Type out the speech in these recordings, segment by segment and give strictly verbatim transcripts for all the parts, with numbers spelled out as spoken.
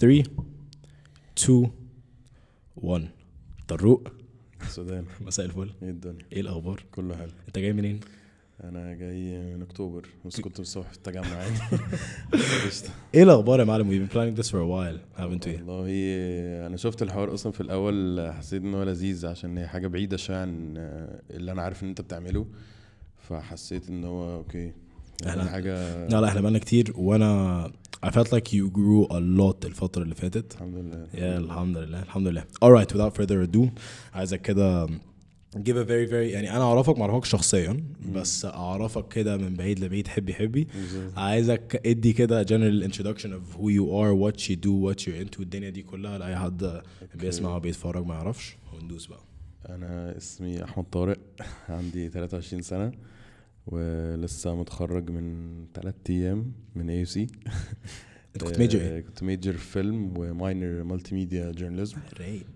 three two one. طروق السودان. مساء الفل. ايه الدنيا؟ ايه الاخبار؟ كله حلو. انت جاي منين؟ انا جاي من اكتوبر بس كنت الصبح في التجمع يعني. ايه الاخبار يا معلم؟ we've been planning this for a while haven't we؟ والله انا شفت الحوار اصلا في الاول حسيت ان هو لذيذ عشان هي حاجه بعيده شويه عن اللي انا عارف ان انت بتعمله, فحسيت ان هو اوكي احنا حاجه. لا لا احنا بقالنا كتير وانا I felt like you grew a lot الفترة اللي فاتت. الحمد لله. يا الحمد لله الحمد لله. Alright, without further ado عايزك كده give a very very يعني انا اعرفك ما اعرفكش شخصيا بس اعرفك كده من بعيد لبعيد حبي حبي. عايزك ادي كده general introduction of who you are, what you do, what you're into, الدنيا دي كلها لاي حد بيسمع وبيتفرج ما يعرفش, وندوس بقى. انا اسمي احمد طارق, عندي ثلاثة وعشرين سنة ولسه متخرج من ثلاثة ايام من اي يو سي. انت كنت ميجر ايه؟ كنت ميجر فيلم وماينر مالتي ميديا جورناليزم. رايق.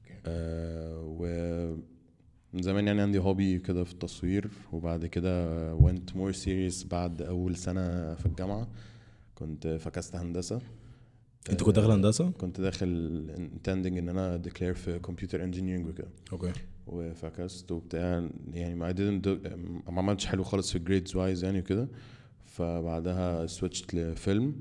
و من زمان يعني عندي هوبي كده في التصوير, وبعد كده went more serious بعد اول سنة في الجامعة. كنت فكست هندسة. انت كنت داخل هندسة؟ كنت داخل intending ان انا declare في computer engineering وكده. اوكي. وفكست وبتاع يعني ما didn't do, ما عملتش حلو خالص في grades wise يعني وكده, فبعدها switched لفيلم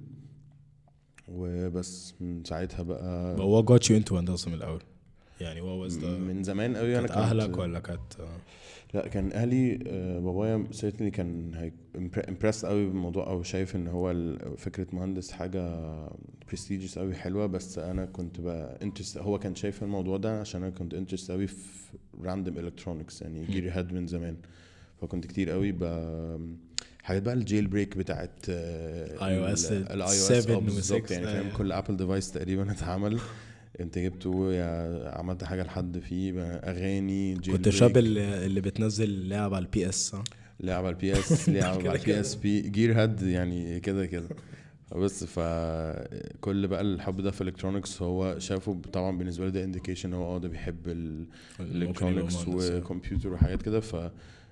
وبس. من ساعتها بقى But what got you into هندسة من الأول؟ يعني what was the من زمان قوي. انا كانت أهلك ولا كانت؟ لا كان اهلي. بابايا certainly كان هي impressed قوي بالموضوع, او شايف ان هو فكره مهندس حاجه prestigious قوي حلوه, بس انا كنت بقى interest. هو كان شايف الموضوع ده عشان انا كنت interest قوي في random electronics يعني جيري هاد من زمان, فكنت كتير قوي ب حاجات بقى الجيل بريك بتاعت اي او اس الاي او اس بالظبط يعني فاهم. كل ابل ديفايس تقريبا اتعمل انت جبته يا عملت حاجه لحد فيه اغاني. كنت الشاب اللي, اللي بتنزل لعب على البي اس صح؟ لعب على البي اس, لعب على البي اس بي جير هاد يعني كده كده. بس فكل بقى الحب ده في الالكترونكس هو شافه طبعا بالنسبه لي ده انديكيشن هو اه ده بيحب الالكترونكس وكمبيوتر وحاجات كده, ف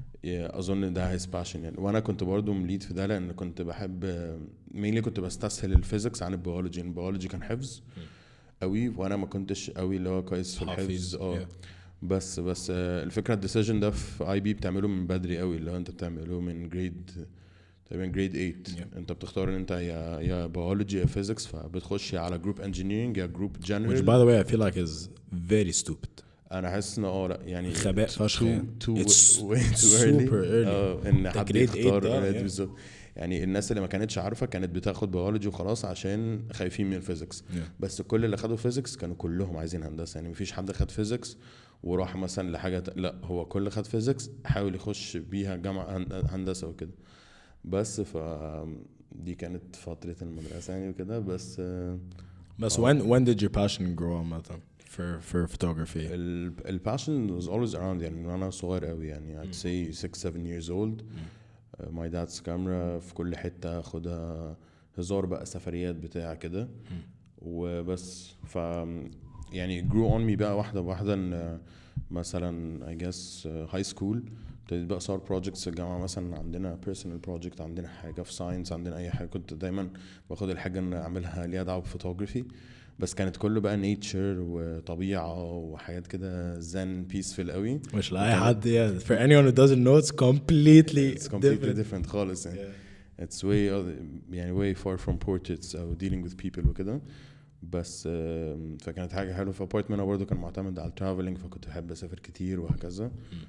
اظن ده هيز باشن يعني. وانا كنت برضو مليد في ده لان كنت بحب مينلي كنت بستسهل الفيزيكس عن البيولوجي. البيولوجي كان حفظ قوي وانا ما كنتش قوي اللي هو كويس في الحفظ اه بس بس الفكره الديسيجن ده في اي بي بتعمله من بدري قوي, اللي هو انت بتعمله من جريد تقريبا جريد ثمانية. yeah. انت بتختار ان انت يا يا بيولوجي يا فيزيكس, فبتخش على جروب انجينيرنج يا جروب جنرال. which by the way I feel like is very stupid. انا حاسس ان اه لا يعني خباء فشخ يعني. it's super early اه ان حد يختار بالظبط يعني. الناس اللي ما كانتش عارفه كانت بتاخد بيولوجي وخلاص عشان خايفين من الفيزيكس, yeah. بس كل اللي خدوا فيزيكس كانوا كلهم عايزين هندسه يعني. مفيش حد خد فيزيكس وراح مثلا لحاجه, لا هو كل خد فيزيكس حاول يخش بيها جامعه هندسه وكده. بس ف دي كانت فتره المدرسه يعني وكده. بس بس when when did your passion grow on مثلا for for photography? ال passion was always around يعني وانا صغير قوي يعني. I'd say six seven years old. uh, my dad's camera في كل حته اخدها هزار بقى, سفريات بتاع كده وبس. ف يعني grew on me بقى واحده بواحده. ان مثلا I guess uh, high school ابتديت بقى صار projects في الجامعه, مثلا عندنا personal project, عندنا حاجه في science, عندنا اي حاجه. كنت دايما باخد الحاجه ان اعملها ليها دعوه بفوتوغرافي, بس كانت كله بقى nature وطبيعه وحاجات كده zen peaceful قوي. مش لاي حد يعني. for anyone who doesn't know it's completely it's completely different, different خالص يعني. yeah. it's way يعني way far from portraits او dealing with people وكده. بس فكانت حاجه حلوه. في ابارتمنت انا برضو كان معتمد على الترافلينج, فكنت بحب اسافر كتير وهكذا.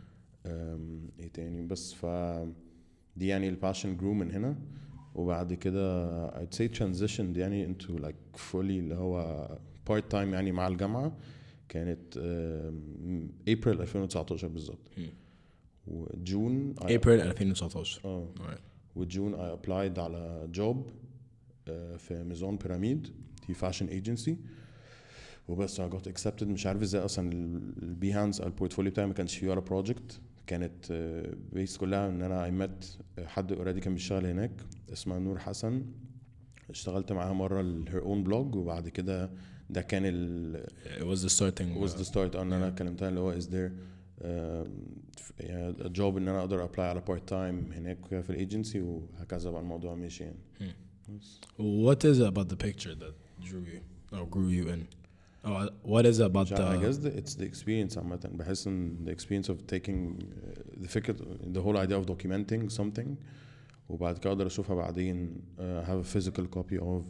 ايه تاني بس ف دي يعني الباشن جرو من هنا. وبعد كده I'd say transitioned يعني into like fully اللي هو part time يعني مع الجامعة. كانت April ألفين وتسعتاشر بالظبط. وجون April ألفين وتسعتاشر اه وجون I applied على job في ميزون بيراميد, دي fashion agency. وبس I got accepted. مش عارف ازاي اصلا البيهانس البورتفوليو بتاعي ما كانش فيه ولا project. كانت بيس كلها ان انا I met حد اوريدي كان بيشتغل هناك اسمها نور حسن, اشتغلت معاها مره ال her own blog, وبعد كده ده كان ال it was the starting was the start ان انا كلمتها اللي هو is there uh, a job ان انا اقدر apply على part time هناك في الايجنسي, وهكذا بقى الموضوع ماشي يعني. What is it about the picture that drew you or grew you in? Oh, what is it about I the guess the, it's the experience عامة. بحس ان the experience of taking uh, the فكرة the whole idea of documenting something وبعد كده اقدر اشوفها بعدين uh, have a physical copy of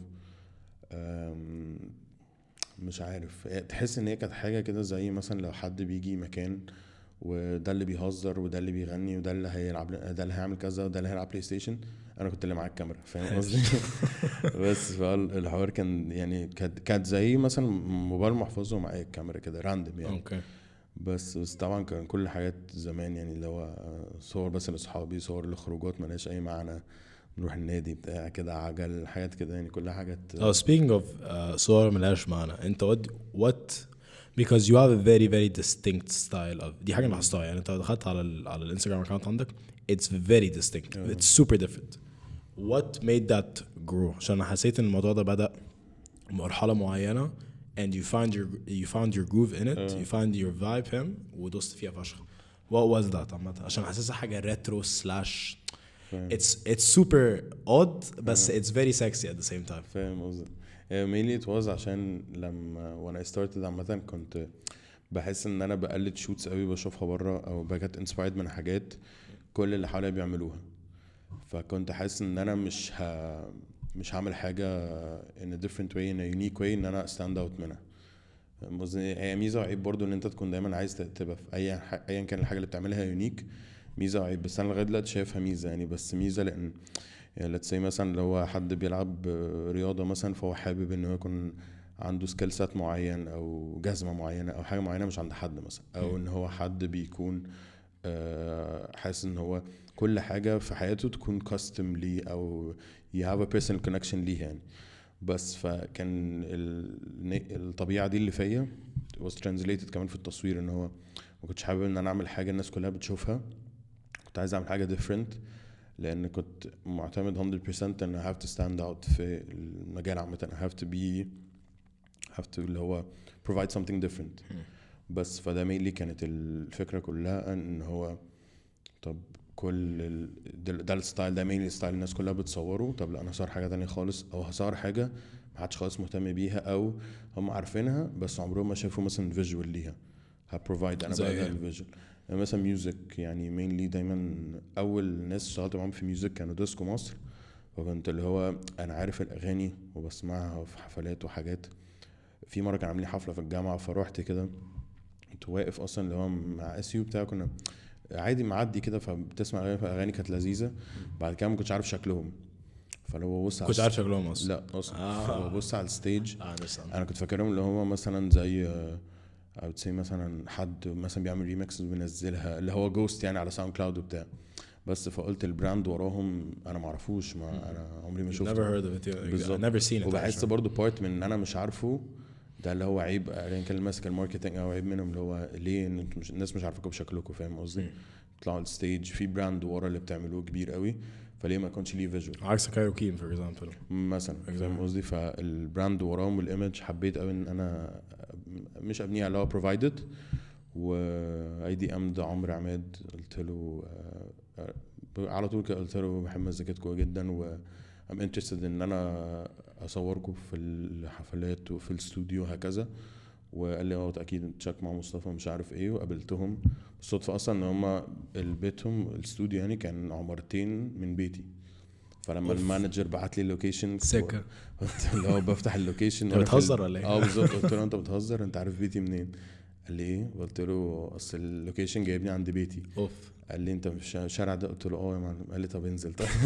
um, مش عارف تحس ان هي كانت حاجة كده زي مثلا لو حد بيجي مكان وده اللي بيهزر وده اللي بيغني وده اللي هيلعب ده اللي هيعمل كذا وده اللي هيلعب بلاي ستيشن انا كنت اللي معاك الكاميرا فاهم قصدي. بس فالحوار كان يعني كانت كانت زي مثلا موبايل محفوظ ومعايا الكاميرا كده راندم يعني اوكي بس بس طبعا كان كل حاجات زمان يعني اللي هو صور بس لاصحابي صور لخروجات مالهاش اي معنى نروح النادي بتاع كده عجل حاجات كده يعني كلها حاجات. oh speaking of uh, صور ملهاش معنى انت what what because you have a very very distinct style of دي حاجة لاحظتها يعني انت دخلت على ال على الانستغرام اكونت عندك it's very distinct yeah. it's super different what made that grow عشان انا حسيت ان الموضوع ده بدأ مرحلة معينة and you find your you found your groove in it yeah. you find your vibe فاهم ودوست فيها فشخ what was that عامة عشان حاسسها حاجة retro slash it's it's super odd بس yeah. it's very sexy at the same time فاهم قصدي. mainly it was عشان لما when I started عامة كنت بحس ان انا بقلد شوتس قوي بشوفها بره او بجت inspired من حاجات كل اللي حواليا بيعملوها فكنت حاسس ان انا مش ه... مش هعمل حاجة in a different way in a unique way ان انا stand out منها. هي ميزة وعيب برضو ان انت تكون دايما عايز تبقى في اي ح... ايا كان الحاجة اللي بتعملها يونيك ميزة وعيب بس انا لغاية دلوقتي شايفها ميزة يعني بس ميزة لان يعني let's say مثلا لو هو حد بيلعب رياضة مثلا فهو حابب انه يكون عنده سكيل سات معين او جزمة معينة او حاجة معينة مش عند حد مثلا او ان هو حد بيكون حاسس ان هو كل حاجة في حياته تكون كاستم ليه او you have a personal connection ليه يعني بس فكان الطبيعة دي اللي فيا was translated كمان في التصوير ان هو ما كنتش حابب ان انا اعمل حاجة الناس كلها بتشوفها كنت عايز اعمل حاجة different لان كنت معتمد one hundred percent ان I have to stand out في المجال عامة I have to be have to اللي هو provide something different بس فده mainly كانت الفكرة كلها ان هو طب كل ال... ده الستايل ده mainly ستايل الناس كلها بتصوره طب لا انا هصور حاجة تانية خالص او هصور حاجة محدش خالص مهتم بيها او هم عارفينها بس عمرهم ما شافوا مثلا فيجوال ليها هبروفايد انا بقى ده الفيجوال يعني مثلا ميوزك يعني mainly دايما اول ناس اشتغلت معاهم في ميوزك كانوا ديسكو مصر وكنت اللي هو انا عارف الاغاني وبسمعها في حفلات وحاجات في مره كان عاملين حفله في الجامعه فروحت كده كنت واقف اصلا اللي هو مع اسيو بتاع كنا عادي معدي كده فبتسمع اغاني اغاني كانت لذيذه بعد كده ما كنتش عارف شكلهم فلو بص كنت عارف شكلهم اصلا لا اصلا آه. ببص على الستيج آه انا كنت فاكرهم اللي هم مثلا زي او تسي مثلا حد مثلا بيعمل ريمكس وبينزلها اللي هو جوست يعني على ساوند كلاود وبتاع بس فقلت البراند وراهم انا ما اعرفوش ما انا عمري ما شفته never heard of it never seen it وبحس برضو بارت من ان انا مش عارفه ده اللي هو عيب يعني كان ماسك الماركتنج او عيب منهم اللي هو ليه ان مش الناس مش عارفاكم بشكلكم فاهم قصدي طلعوا الستيج في براند ورا اللي بتعملوه كبير قوي فليه ما يكونش ليه فيجوال عكس كايروكين فور اكزامبل مثلا فاهم قصدي فالبراند وراهم والايمج حبيت قوي ان انا مش ابنيه على بروفايدد واي دي ام ده عمرو عماد قلت له على طول كده قلت له بحب مزيكتكم جدا و I'm interested ان انا اصوركم في الحفلات وفي الاستوديو هكذا وقال لي اه اكيد تشيك مع مصطفى مش عارف ايه وقابلتهم بالصدفه اصلا ان هم بيتهم الاستوديو يعني كان عمارتين من بيتي فلما المانجر بعت لي اللوكيشن سكه اللي هو بفتح اللوكيشن انت بتهزر ولا ايه؟ اه بالظبط قلت له انت بتهزر انت عارف بيتي منين؟ قال لي ايه؟ قلت له اصل اللوكيشن جايبني عند بيتي اوف قال لي انت في الشارع ده قلت له اه يا معلم قال لي طب انزل طب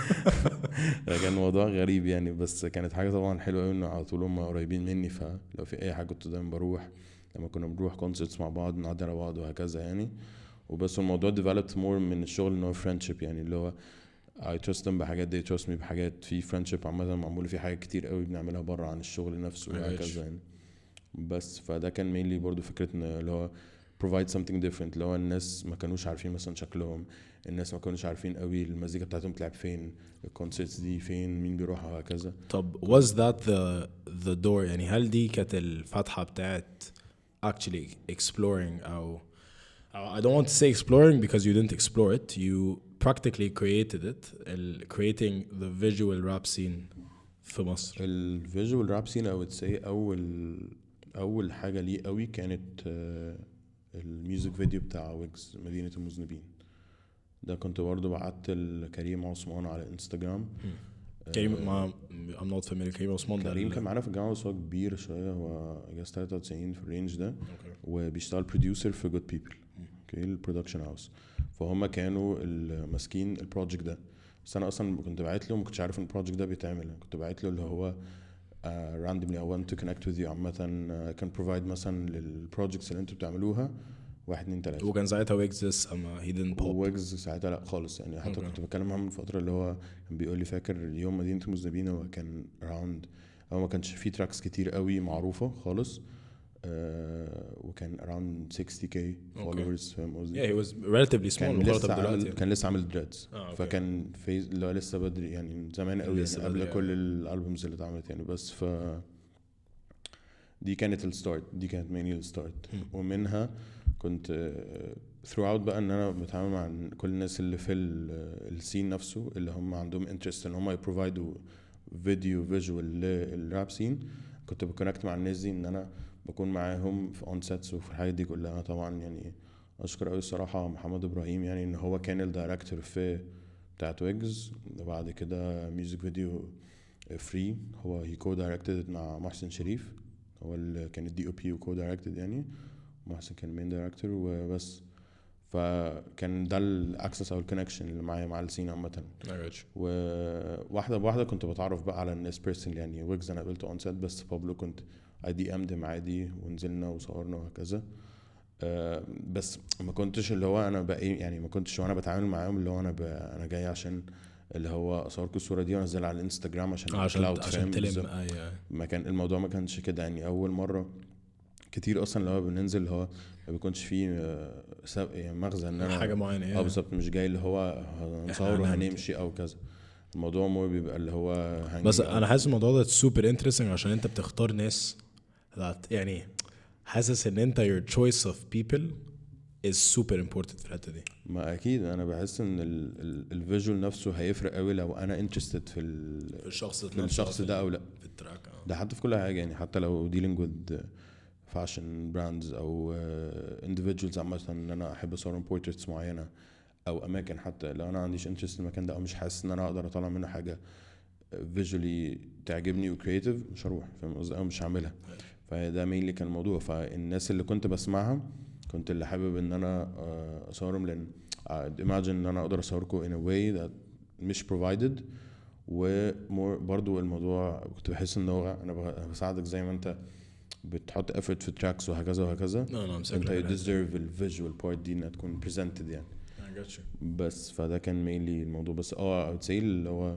كان موضوع غريب يعني بس كانت حاجه طبعا حلوه قوي انه على طول هم قريبين مني فلو في اي حاجه كنت دايما بروح لما كنا بنروح كونسرتس مع بعض نعدي على بعض وهكذا يعني وبس الموضوع developed more من الشغل ان هو friendship يعني اللي هو I trust them بحاجات they trust me بحاجات في friendship عامه معمول في حاجات كتير قوي بنعملها بره عن الشغل نفسه وهكذا يعني بس فده كان mainly برضو فكره ان اللي هو provide something different اللي هو الناس ما كانوش عارفين مثلا شكلهم الناس ما كانوش عارفين قوي المزيكا بتاعتهم بتلعب فين الكونسرتس دي فين مين بيروح وهكذا طب was that the the door يعني هل دي كانت الفتحة بتاعت actually exploring أو I don't want to say exploring because you didn't explore it you practically created it creating the visual rap scene في مصر؟ الفيجوال راب سين او تسي اول اول حاجه ليه قوي كانت آه، الميوزك فيديو بتاع ويجز مدينه المذنبين. ده كنت برضه بعت لكريم عثمان على انستجرام. كريم ما I'm not familiar. كريم عثمان ده كريم ال- كان معانا في الجامعه بس هو كبير شويه، هو جاز تلاتة وتسعين في الرينج ده، أوكي. وبيشتغل بروديوسر في جود بيبل، اوكي، البرودكشن هاوس. فهم كانوا ماسكين البروجكت ده، بس انا اصلا كنت باعت له، ما كنتش عارف ان البروجكت ده بيتعمل. كنت باعت له اللي هو راندوملي I want to connect with you عامه، uh, can provide مثلا للبروجكتس اللي انتوا بتعملوها واحد اتنين تلاته. وكان ساعتها ويجز اما he didn't pop. ويجز ساعتها لا خالص يعني، حتى Okay. كنت بتكلم معاه من فتره اللي هو كان بيقول لي فاكر يوم مدينه المذنبين هو كان راوند، هو ما كانش فيه تراكس كتير قوي معروفه خالص، آه وكان around sixty K followers، فاهم قصدي؟ Yeah, he was relatively small كان مقارنة لسه بدلوقتي عامل يعني. كان لسه عامل دريدز، آه، أوكي. فكان في اللي هو لسه بدري يعني، من زمان قوي لسه يعني، قبل بدري كل أوي. الالبومز اللي اتعملت يعني. بس ف دي كانت الستارت، دي كانت ميني الستارت. ومنها كنت ثرو اوت بقى ان انا بتعامل مع كل الناس اللي في السين نفسه، اللي هم عندهم انترست ان هم يبروفايدوا فيديو فيجوال للراب سين. كنت بكونكت مع الناس دي ان انا بكون معاهم في اون سيتس وفي الحاجات دي كلها. طبعا يعني اشكر قوي الصراحه محمد ابراهيم، يعني ان هو كان الدايركتور في بتاعت ويجز، وبعد كده ميوزك فيديو فري هو هي كو دايركتد مع محسن شريف، هو اللي كان الدي او بي وكو دايركتد يعني، محسن كان مين دايركتور وبس. فكان ده الاكسس او الكونكشن اللي معايا مع السين عامه. وواحده بواحده كنت بتعرف بقى على الناس بيرسونال يعني. ويجز انا قابلته اون سيت، بس بابلو كنت اي دي امد عادي ونزلنا وصورنا وهكذا. أه بس ما كنتش اللي هو انا بقى يعني، ما كنتش وانا بتعامل معاهم اللي هو انا انا جاي عشان اللي هو اصوركم الصوره دي وانزلها على الانستجرام عشان عشان cloud، عشان تلم. بالظبط. ايوه ما كان الموضوع ما كانش كده يعني. اول مره كتير اصلا اللي هو بننزل اللي هو ما بيكونش فيه آه، سب- يعني مغزى ان انا حاجه معينه اه يعني. بالظبط، مش جاي اللي هو هنصور وهنمشي او كذا. الموضوع مو بيبقى اللي هو بس hanging انا out. حاسس الموضوع ده سوبر انترستنج عشان انت بتختار ناس that يعني حاسس ان انت your choice of people is super important في الحته دي. ما اكيد انا بحس ان الفيجوال نفسه هيفرق قوي لو انا انترستد في ال- في الشخص في الشخص ده او لا. في التراك. اه ده حتى في كل حاجه يعني، حتى لو dealing with fashion brands او uh, individuals عامه، ان انا احب اصور portraits معينه او اماكن، حتى لو انا عنديش انترست في المكان ده او مش حاسس ان انا اقدر اطلع منه حاجه فيجولي تعجبني وكرييتيف، مش هروح، فاهم قصدي، او مش هعملها. فده مين اللي كان الموضوع. فالناس اللي كنت بسمعها كنت اللي حابب ان انا آه، اصورهم، لان imagine ان انا اقدر اصوركم in a way that مش provided. ومور برضو الموضوع كنت بحس ان هو انا بساعدك زي ما انت بتحط effort في tracks وهكذا وهكذا، no, no, انت you deserve ال visual part دي انها تكون presented يعني. I got you. بس فده كان mainly الموضوع. بس اه I would say اللي هو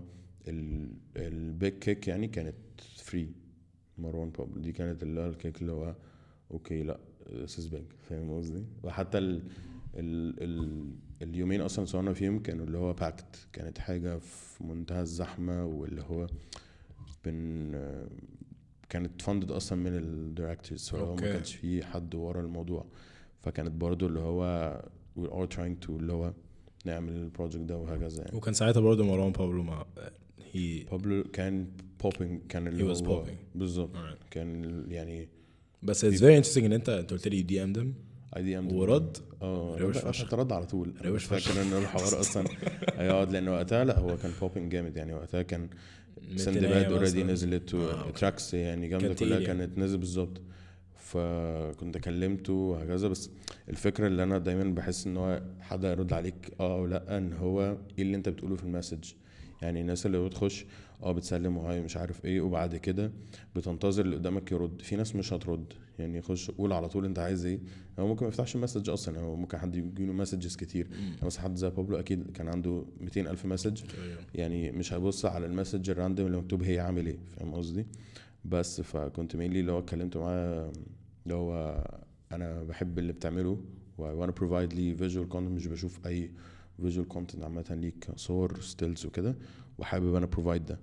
البيج كيك يعني كانت فري مروان بابلو. دي كانت اللي هو الكيك اللي هو اوكي لا this is big، فاهم قصدي. وحتى ال ال ال اليومين اصلا صورنا فيهم كانوا اللي هو باكت، كانت حاجه في منتهى الزحمه، واللي هو بن كانت فاندد اصلا من الدايركتورز، فهو ما كانش في حد ورا الموضوع. فكانت برضو اللي هو we're all trying to اللي هو نعمل البروجكت ده وهكذا يعني. وكان ساعتها برضه مروان بابلو ما he بابلو كان popping، كان اللي he was هو popping. بالظبط Alright. كان يعني. بس it's very interesting ان انت انت قلت لي دي ام دم اي دي ام ورد اه روش فشخ. رد على طول. روش فاكر ان الحوار اصلا هيقعد، لان وقتها لا هو كان بوبينج جامد يعني. وقتها كان سندباد اوريدي نزلت وتراكس يعني جامده كلها كانت نازله بالظبط. فكنت كلمته وهكذا. بس الفكره اللي انا دايما بحس ان هو حد يرد عليك اه او لا، ان هو ايه اللي انت بتقوله في المسج. يعني الناس اللي بتخش اه بتسلم وهاي مش عارف ايه، وبعد كده بتنتظر اللي قدامك يرد. في ناس مش هترد يعني، خش قول على طول انت عايز ايه. هو ممكن ما يفتحش المسج اصلا، هو ممكن حد يجيله مسجز كتير. مثلا حد زي بابلو اكيد كان عنده مئتين الف مسج يعني، مش هيبص على المسج الراندوم اللي مكتوب هي عامل ايه، فاهم قصدي. بس فكنت مينلي اللي هو اتكلمت معاه اللي هو انا بحب اللي بتعمله وانا بروفايد لي فيجوال كونتنت، مش بشوف اي فيجوال كونتنت عامه ليك صور ستيلز وكده، وحابب انا بروفايد ده.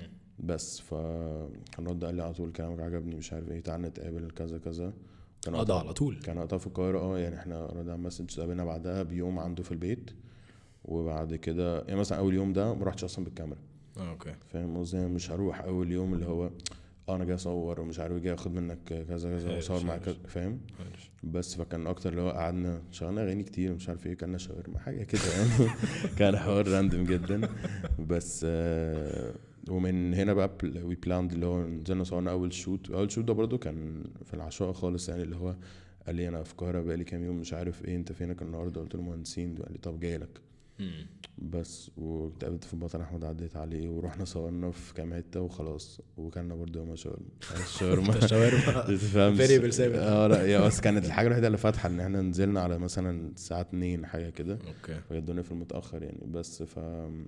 بس فكان رد قال لي على طول كلامك عجبني مش عارف ايه، تعالى نتقابل كذا كذا. كان اه ده على طول كان وقتها في القاهره اه يعني. احنا ردنا مسج قابلنا بعدها بيوم عنده في البيت. وبعد كده يعني مثلا اول يوم ده ما رحتش اصلا بالكاميرا، اه اوكي فاهم قصدي؟ مش هروح اول يوم اللي هو اه انا جاي اصور ومش عارف جاي اخد منك كذا كذا عارف، واصور معاك عارف. كذا، فاهم؟ عارف. بس فكان اكتر اللي هو قعدنا شغلنا اغاني كتير مش عارف ايه، كنا شاورما حاجه كده يعني. كان حوار راندم جدا. بس آه ومن هنا بقى وي بلاند اللي هو نزلنا صورنا اول شوت. اول شوت ده برضو كان في العشاء خالص يعني، اللي هو قال لي انا في القاهره بقالي كام يوم مش عارف ايه، انت فينك النهارده؟ قلت له مهندسين. قال لي طب جاي لك. مم. بس واتقابلت في بطل احمد، عديت عليه ورحنا صورنا في كام حته وخلاص، وكلنا برضه يوم شاورما. الشاورما الشاورما تفهمش variable ثابت. اه لا يا بس كانت الحاجه الوحيده اللي فاتحه ان احنا نزلنا على مثلا الساعه اتنين حاجه كده، اوكي فجدوني في المتاخر يعني. بس ف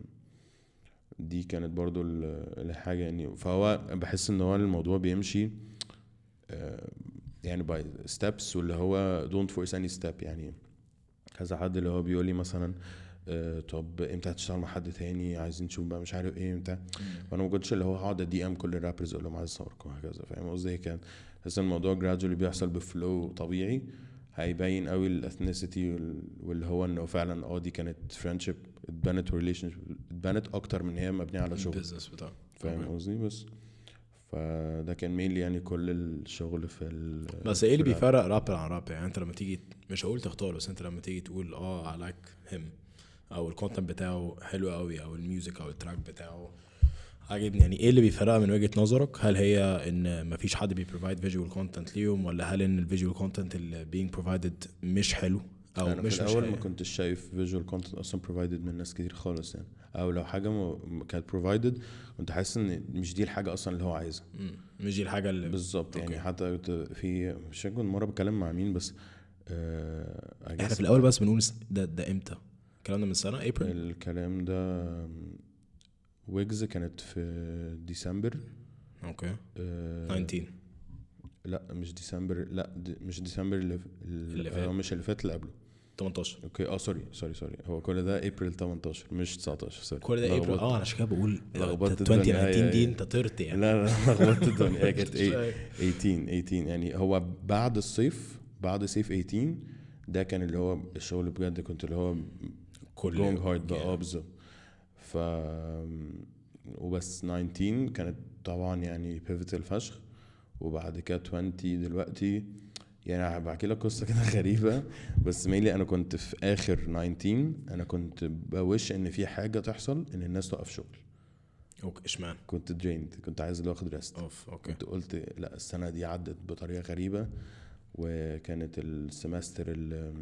دي كانت برضو ال- الحاجه يعني. فهو بحس ان هو الموضوع بيمشي آه، يعني باي ستيبس، واللي هو دونت فورس اني ستيب يعني. كذا حد اللي هو بيقول لي مثلا آه، طب امتى هتشتغل مع حد تاني، عايزين نشوف بقى مش عارف ايه امتى. وانا ما كنتش اللي هو هقعد دي ام كل الرابرز اقول لهم عايز اصوركم وهكذا، فاهم قصدي؟ كان بس الموضوع جرادولي بيحصل بفلو طبيعي، هيبين قوي الاثنيسيتي واللي هو انه فعلا اه دي كانت فريندشيب اتبنت وريليشن اتبنت اكتر من هي مبنيه على شغل، البيزنس بتاعه. فاهم قصدي؟ بس فده كان ميل يعني كل الشغل في ال بس ايه اللي في الراب. بيفرق رابر عن رابر؟ يعني انت لما تيجي مش هقول تختار، بس انت لما تيجي تقول اه I like him او الكونتنت بتاعه حلو قوي او الميوزك او التراك بتاعه عاجبني، يعني ايه اللي بيفرقها من وجهة نظرك؟ هل هي ان مفيش حد بيبروفايد فيجوال كونتنت ليهم، ولا هل ان الفيجوال كونتنت اللي being provided مش حلو او انا مش في مش الاول ما حلو؟ كنتش شايف فيجوال كونتنت اصلا بروفايدد من ناس كتير خالص يعني، او لو حاجه م- كانت بروفايدد كنت حاسس ان مش دي الحاجه اصلا اللي هو عايزها. مم. مش دي الحاجة اللي بالظبط يعني. أوكي. حتى كنت في مش فاكر كنت مره بتكلم مع مين بس آه I احنا guess في الاول بس بنقول ده ده امتى الكلام ده؟ من سنة ابريل؟ الكلام ده ويجز كانت في ديسمبر. اوكي آه تسعتاشر لا مش ديسمبر، لا دي مش ديسمبر اللي, اللي اللي فات. مش اللي فات اللي قبله. تمنتاشر اوكي اه سوري سوري سوري هو كل ده ابريل تمنتاشر مش تسعتاشر سوري. كل ده ابريل. لخبطت- اه انا عشان كده بقول لخبطت ألفين الدنيا. وتسعتاشر هي- دي هي- انت طرت يعني. لا لا لخبطت الدنيا. هي كانت مش ايه عارف. تمنتاشر تمنتاشر يعني. هو بعد الصيف بعد صيف تمنتاشر ده كان اللي هو الشغل بجد، كنت اللي هو كل جونج هارد بقى يعني. اه بالظبط. ف وبس تسعتاشر كانت طبعا يعني بيفيتال فشخ. وبعد كده عشرين دلوقتي يعني بحكي لك قصه كده غريبه. بس ميلي انا كنت في اخر تسعتاشر انا كنت بوش ان في حاجه تحصل ان الناس توقف شغل. اوكي اشمعنى؟ كنت دريند، كنت عايز اللي اخد ريست. اوف اوكي. كنت قلت لا السنه دي عدت بطريقه غريبه. وكانت السمستر ال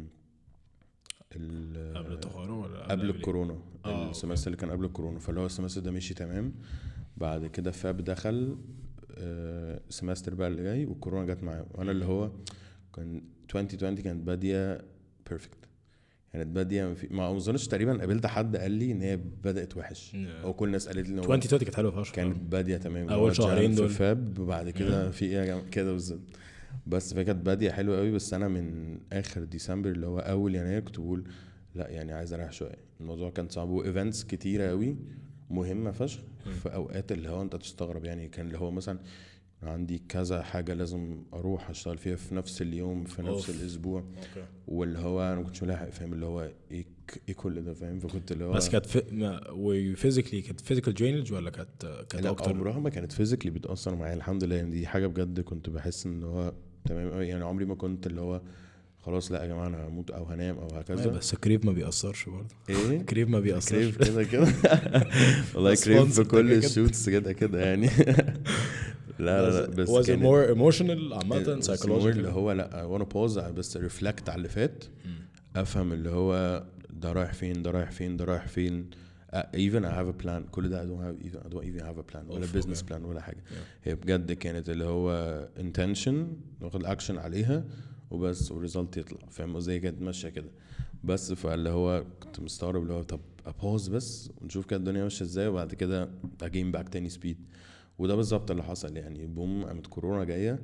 ال قبل التخرج ولا قبل إيه؟ الكورونا. آه، السمستر اللي كان قبل الكورونا، فاللي هو السمستر ده مشي تمام. بعد كده فاب دخل آه، السمستر بقى اللي جاي والكورونا جت معاه. وانا اللي هو كان عشرين عشرين كانت باديه بيرفكت، كانت باديه في- ما اظنش تقريبا قابلت حد قال لي ان هي بدات وحش، Yeah. او كل الناس قالت لي ان هو عشرين عشرين كانت حلوه فشخ. كانت باديه تمام. أول هو شهرين جان في دول. فاب وبعد كده في ايه يا جماعة كده بالظبط. بس فكانت باديه حلوه قوي. بس انا من اخر ديسمبر اللي هو اول يناير كنت بقول لا يعني عايز اريح شويه. الموضوع كان صعب وايفنتس كتيره قوي مهمه فشخ في اوقات اللي هو انت تستغرب يعني. كان اللي هو مثلا عندي كذا حاجة لازم أروح أشتغل فيها في نفس اليوم في نفس أوف. الأسبوع. اوكي. واللي هو أنا ما كنتش ملاحق فاهم اللي هو إيه ك- إيه كل ده فاهم. فكنت اللي هو بس كانت فيزيكالي كانت فيزيكال درينج ولا كانت كانت لا اكتر؟ عمرها ما كانت فيزيكلي بتأثر معايا الحمد لله يعني. دي حاجة بجد كنت بحس إن هو تمام قوي يعني. عمري ما كنت اللي هو خلاص لا يا جماعة أنا هموت أو هنام أو أيوة، هكذا. بس كريب ما بيأثرش برضه. إيه كريب ما بيأثرش. كريف كده كده والله ده كريف sponsor في ده كل كده. الشوتس كده كده يعني. لا لا لا بس was it كانت more emotional عامة more psychological؟ اللي هو لا وانا بوز بس ريفلكت على اللي فات، افهم اللي هو ده رايح فين ده رايح فين ده رايح فين. uh, even I have a plan. كل ده I don't have even I don't even have a plan ولا Oof, business okay. plan ولا حاجة. Yeah. هي بجد كانت اللي هو intention ناخد action عليها وبس والريزلت يطلع فاهم ازاي. كانت ماشية كده بس. فاللي هو كنت مستغرب اللي هو طب ابوز بس ونشوف كده الدنيا ماشية ازاي وبعد كده اجين باك تاني سبيد. وده بالظبط اللي حصل يعني. بوم قامت كورونا جاية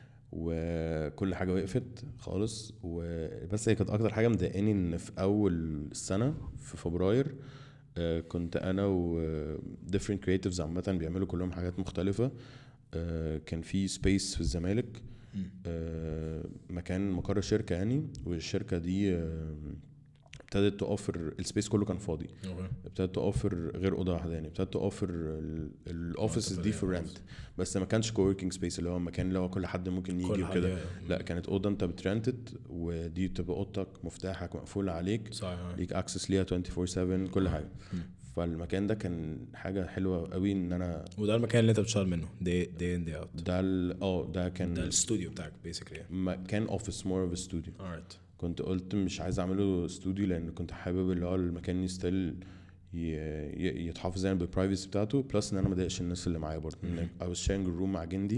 وكل حاجه وقفت خالص. وبس هي كانت اكتر حاجه مضايقاني ان في اول السنه في فبراير آه، كنت انا و different creatives عامه بيعملوا كلهم حاجات مختلفه. آه، كان في سبيس في الزمالك آه، مكان مقر شركه يعني. والشركه دي آه، ابتدت توفر السبيس كله كان فاضي. okay. ابتدت توفر غير اوضه واحده يعني ابتدت توفر الاوفيس دي في رنت بس ما كانش كووركينج سبيس اللي هو مكان اللي هو كل حد ممكن يجي وكده. لا كانت اوضه انت بترنتد ودي بتبقى اوضتك مفتاحك مقفول عليك صحيح. ليك اكسس ليها اربعة وعشرين سبعة كل حاجه. فالمكان ده كان حاجه حلوه قوي ان انا وده المكان اللي انت بتشتغل منه دي دي ان دي اوت ده اه ده كان ده الاستوديو بتاعك بيسكلي كان اوفيس مور اوف استوديو. كنت قلت مش عايز اعمله استوديو لان كنت حابب اللي هو المكان يستل يتحافظ يعني بالبرايفسي بتاعته بلس ان انا ما اضايقش الناس اللي معايا برضه. I was sharing a room مع جندي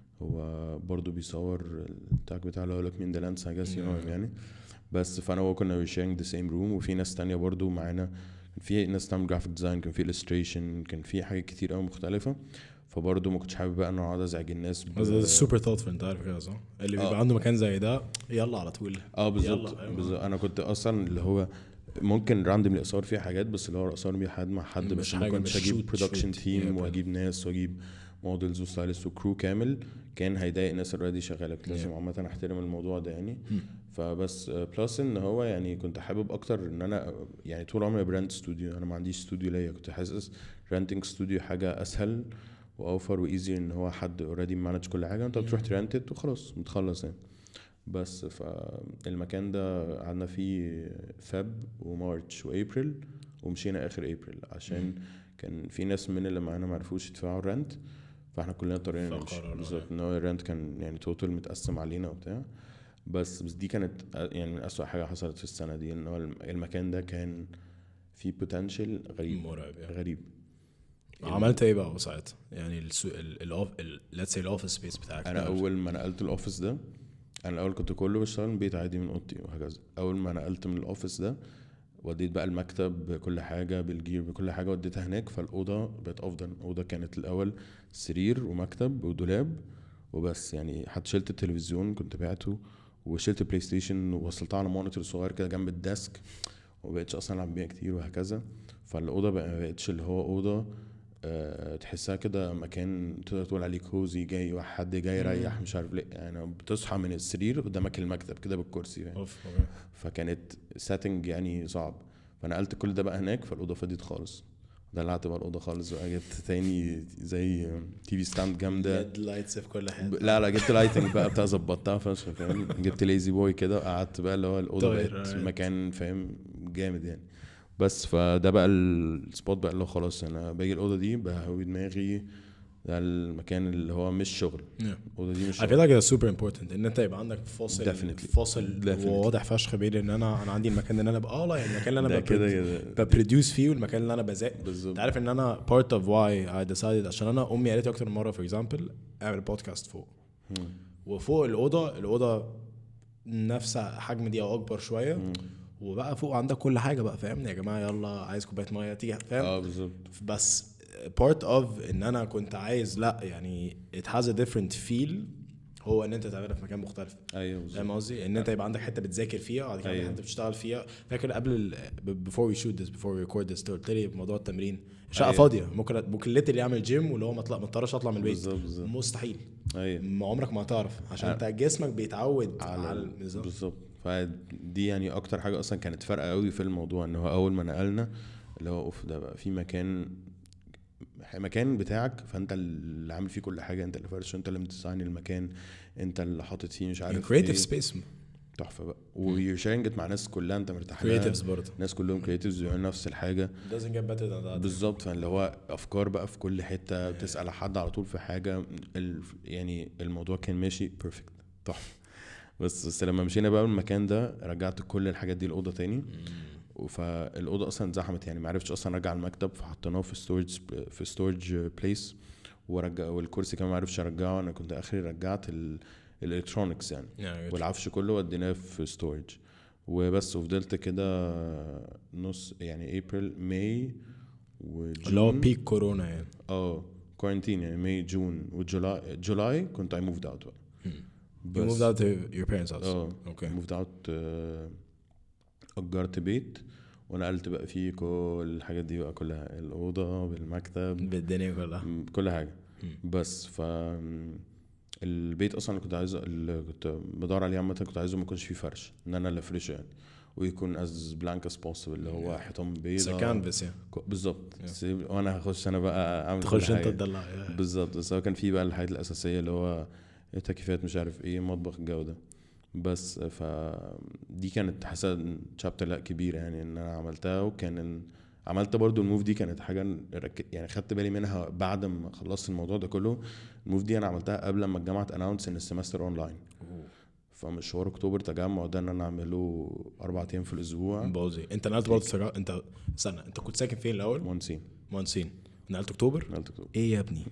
هو برضه بيصور التاج بتاعه اللي هو لك مين ده لانس I guess you know him يعني بس فانا هو كنا sharing the same room وفي ناس تانية برضه معانا كان في ناس تعمل جرافيك ديزاين كان في illustration كان في حاجات كتير قوي مختلفة فبرضه ما كنتش حابب بقى ان انا اقعد ازعج الناس ده سوبر ثوتفul انت عارف كده صح اللي بيبقى آه. عنده مكان زي ده يلا على طول اه بالظبط بالظبط. انا كنت اصلا اللي هو ممكن راندم الاقصار فيها حاجات بس اللي هو اقصار بيه حد مع حد بس ما كنتش اجيب برودكشن تيم واجيب ناس واجيب موديلز وستايلست وكرو كامل كان هيضايق الناس اوريدي شغاله. كنت لازم عامه احترم الموضوع ده يعني. فبس بلس ان هو يعني كنت حابب اكتر ان انا يعني طول عمري براند استوديو انا ما عنديش استوديو ليا. كنت حاسس رانتنج استوديو حاجه اسهل واوفر وايزي ان هو حد اوريدي مانج كل حاجه انت بتروح ترانتد وخلاص متخلص يعني. بس فالمكان ده قعدنا فيه فاب ومارتش وابريل ومشينا اخر ابريل عشان كان في ناس من اللي معانا ما عرفوش يدفعوا الرنت فاحنا كلنا اضطرينا نمشي. بالظبط ان هو الرنت كان يعني توتال متقسم علينا وبتاع بس بس دي كانت يعني من اسوأ حاجه حصلت في السنه دي ان هو المكان ده كان فيه بوتنشال غريب مرعب يعني. غريب. عملت ايه بقى ساعتها يعني ال let's say الاوفيس سبيس بتاعك؟ انا اول ما نقلت الاوفيس ده انا الاول كنت كله بشتغل من البيت عادي من اوضتي وهكذا. اول ما نقلت من الاوفيس ده وديت بقى المكتب بكل حاجه بالجير بكل حاجه وديتها هناك. فالاوضه بقت افضل. الاوضه كانت الاول سرير ومكتب ودولاب وبس يعني حتى شلت التلفزيون كنت بعته وشلت بلاي ستيشن ووصلتها على مونيتور صغير كده جنب الديسك وبقيتش اصلا العب بيها كتير وهكذا. فالاوضه بقى ما بقتش اللي هو اوضه أه تحسها كده مكان تقدر تقول عليه كوزي جاي واحد جاي يريح مش عارف ليه يعني بتصحى من السرير قدامك المكتب كده بالكرسي يعني. فكانت سيتنج يعني صعب. فنقلت كل ده بقى هناك فالاوضه فضيت خالص. دلعت بقى الاوضه خالص بقى جبت تاني زي تي في ستاند جامده لايتس في كل حته. لا لا جبت لايتنج بقى بتاع ظبطتها فشخ فاهم. جبت ليزي بوي كده وقعدت بقى اللي هو الاوضه بقت مكان فاهم جامد يعني. بس فده بقى السبوت بقى اللي هو خلاص انا باجي الاوضه دي بهوي دماغي ده المكان اللي هو مش شغل. الاوضه دي مش شغل. I feel like it's super important ان انت يبقى عندك فاصل Definitely. فاصل Definitely. واضح فشخ بين ان انا انا عندي المكان اللي انا بقى اه يعني المكان اللي انا ببروديوس فيه والمكان اللي انا بذاكر. انت عارف ان انا part of why I decided عشان انا امي قالت اكتر من مره for example اعمل بودكاست فوق hmm. وفوق الاوضه الاوضه نفس حجم دي او اكبر شويه hmm. وبقى فوق عندك كل حاجه بقى فاهم يا جماعه يلا عايز كوبايه ميه تيجي فاهم. اه بالظبط. بس part of ان انا كنت عايز لا يعني it has a different feel هو ان انت تعملها في مكان مختلف. ايوه فاهم قصدي ان انت يبقى عندك حته بتذاكر فيها وبعد كده أيوة. حته بتشتغل فيها. فاكر قبل before we shoot this before we record this قلت لي موضوع التمرين شقه أيوة. فاضيه ممكن ممكن اللي يعمل جيم واللي هو ما ما اضطرش اطلع من البيت بالزبط بالزبط. مستحيل. ايوه ما عمرك ما هتعرف عشان انت جسمك بيتعود على, على بالظبط. فدي يعني اكتر حاجه اصلا كانت فارقه قوي في الموضوع ان هو اول ما نقلنا اللي هو اوف ده بقى في مكان مكان بتاعك فانت اللي عامل فيه كل حاجه. انت اللي فرش انت اللي مديزاين المكان انت اللي حاطط فيه مش عارف ايه creative space تحفه بقى ويو شيرنج مع ناس كلها انت مرتاح لها creatives برضه ناس كلهم creatives بيعملوا نفس الحاجه doesn't get better than that بالظبط. فاللي هو افكار بقى في كل حته بتسال حد على طول في حاجه يعني الموضوع كان ماشي بيرفكت تحفه. بس بس لما مشينا بقى من المكان ده رجعت كل الحاجات دي الاوضه تاني فالاوضه اصلا زحمت يعني ما عرفتش اصلا ارجع المكتب فحطيناه في ستورج في ستورج بليس ورجع والكرسي كمان ما عرفتش ارجعه. انا كنت اخري رجعت الالكترونكس يعني yeah, والعفش كله وديناه في ستورج وبس. وفضلت كده نص يعني ابريل ماي وجون اللي هو بيك كورونا يعني اه كورنتين يعني ماي جون وجولاي جولاي كنت I moved out بقى. You moved out to your parents' house. اه okay. moved out أجرت بيت ونقلت بقى فيه كل الحاجات دي بقى كلها الأوضة بالمكتب بالدنيا كلها كل حاجة م. بس ف البيت أصلا اللي كنت عايزه اللي كنت بدور عليه عامة كنت عايزه ما يكونش فيه فرش إن أنا اللي أفرشه يعني. ويكون از بلانك از بوسيبل اللي هو حيطان بيضاء كانفاس يعني بالظبط. وانا هخش انا بقى اعمل تخش انت تدلع بالظبط. بس هو كان في بقى الحاجات الاساسيه اللي هو تكييفات مش عارف ايه مطبخ الجوده بس. فدي كانت حاسه شابتر لا كبيره يعني ان انا عملتها. وكان عملت برضو الموف دي كانت حاجه يعني خدت بالي منها بعد ما خلصت الموضوع ده كله. الموف دي انا عملتها قبل ما الجامعه اناونس ان السمستر اونلاين. فمشوار اكتوبر تجمع ده ان انا اعمله اربع ايام في الاسبوع بوزي. انت نقلت برضه سجا... انت استنى انت كنت ساكن فين الاول؟ مهندسين. مهندسين نقلت اكتوبر. نقلت اكتوبر ايه يا ابني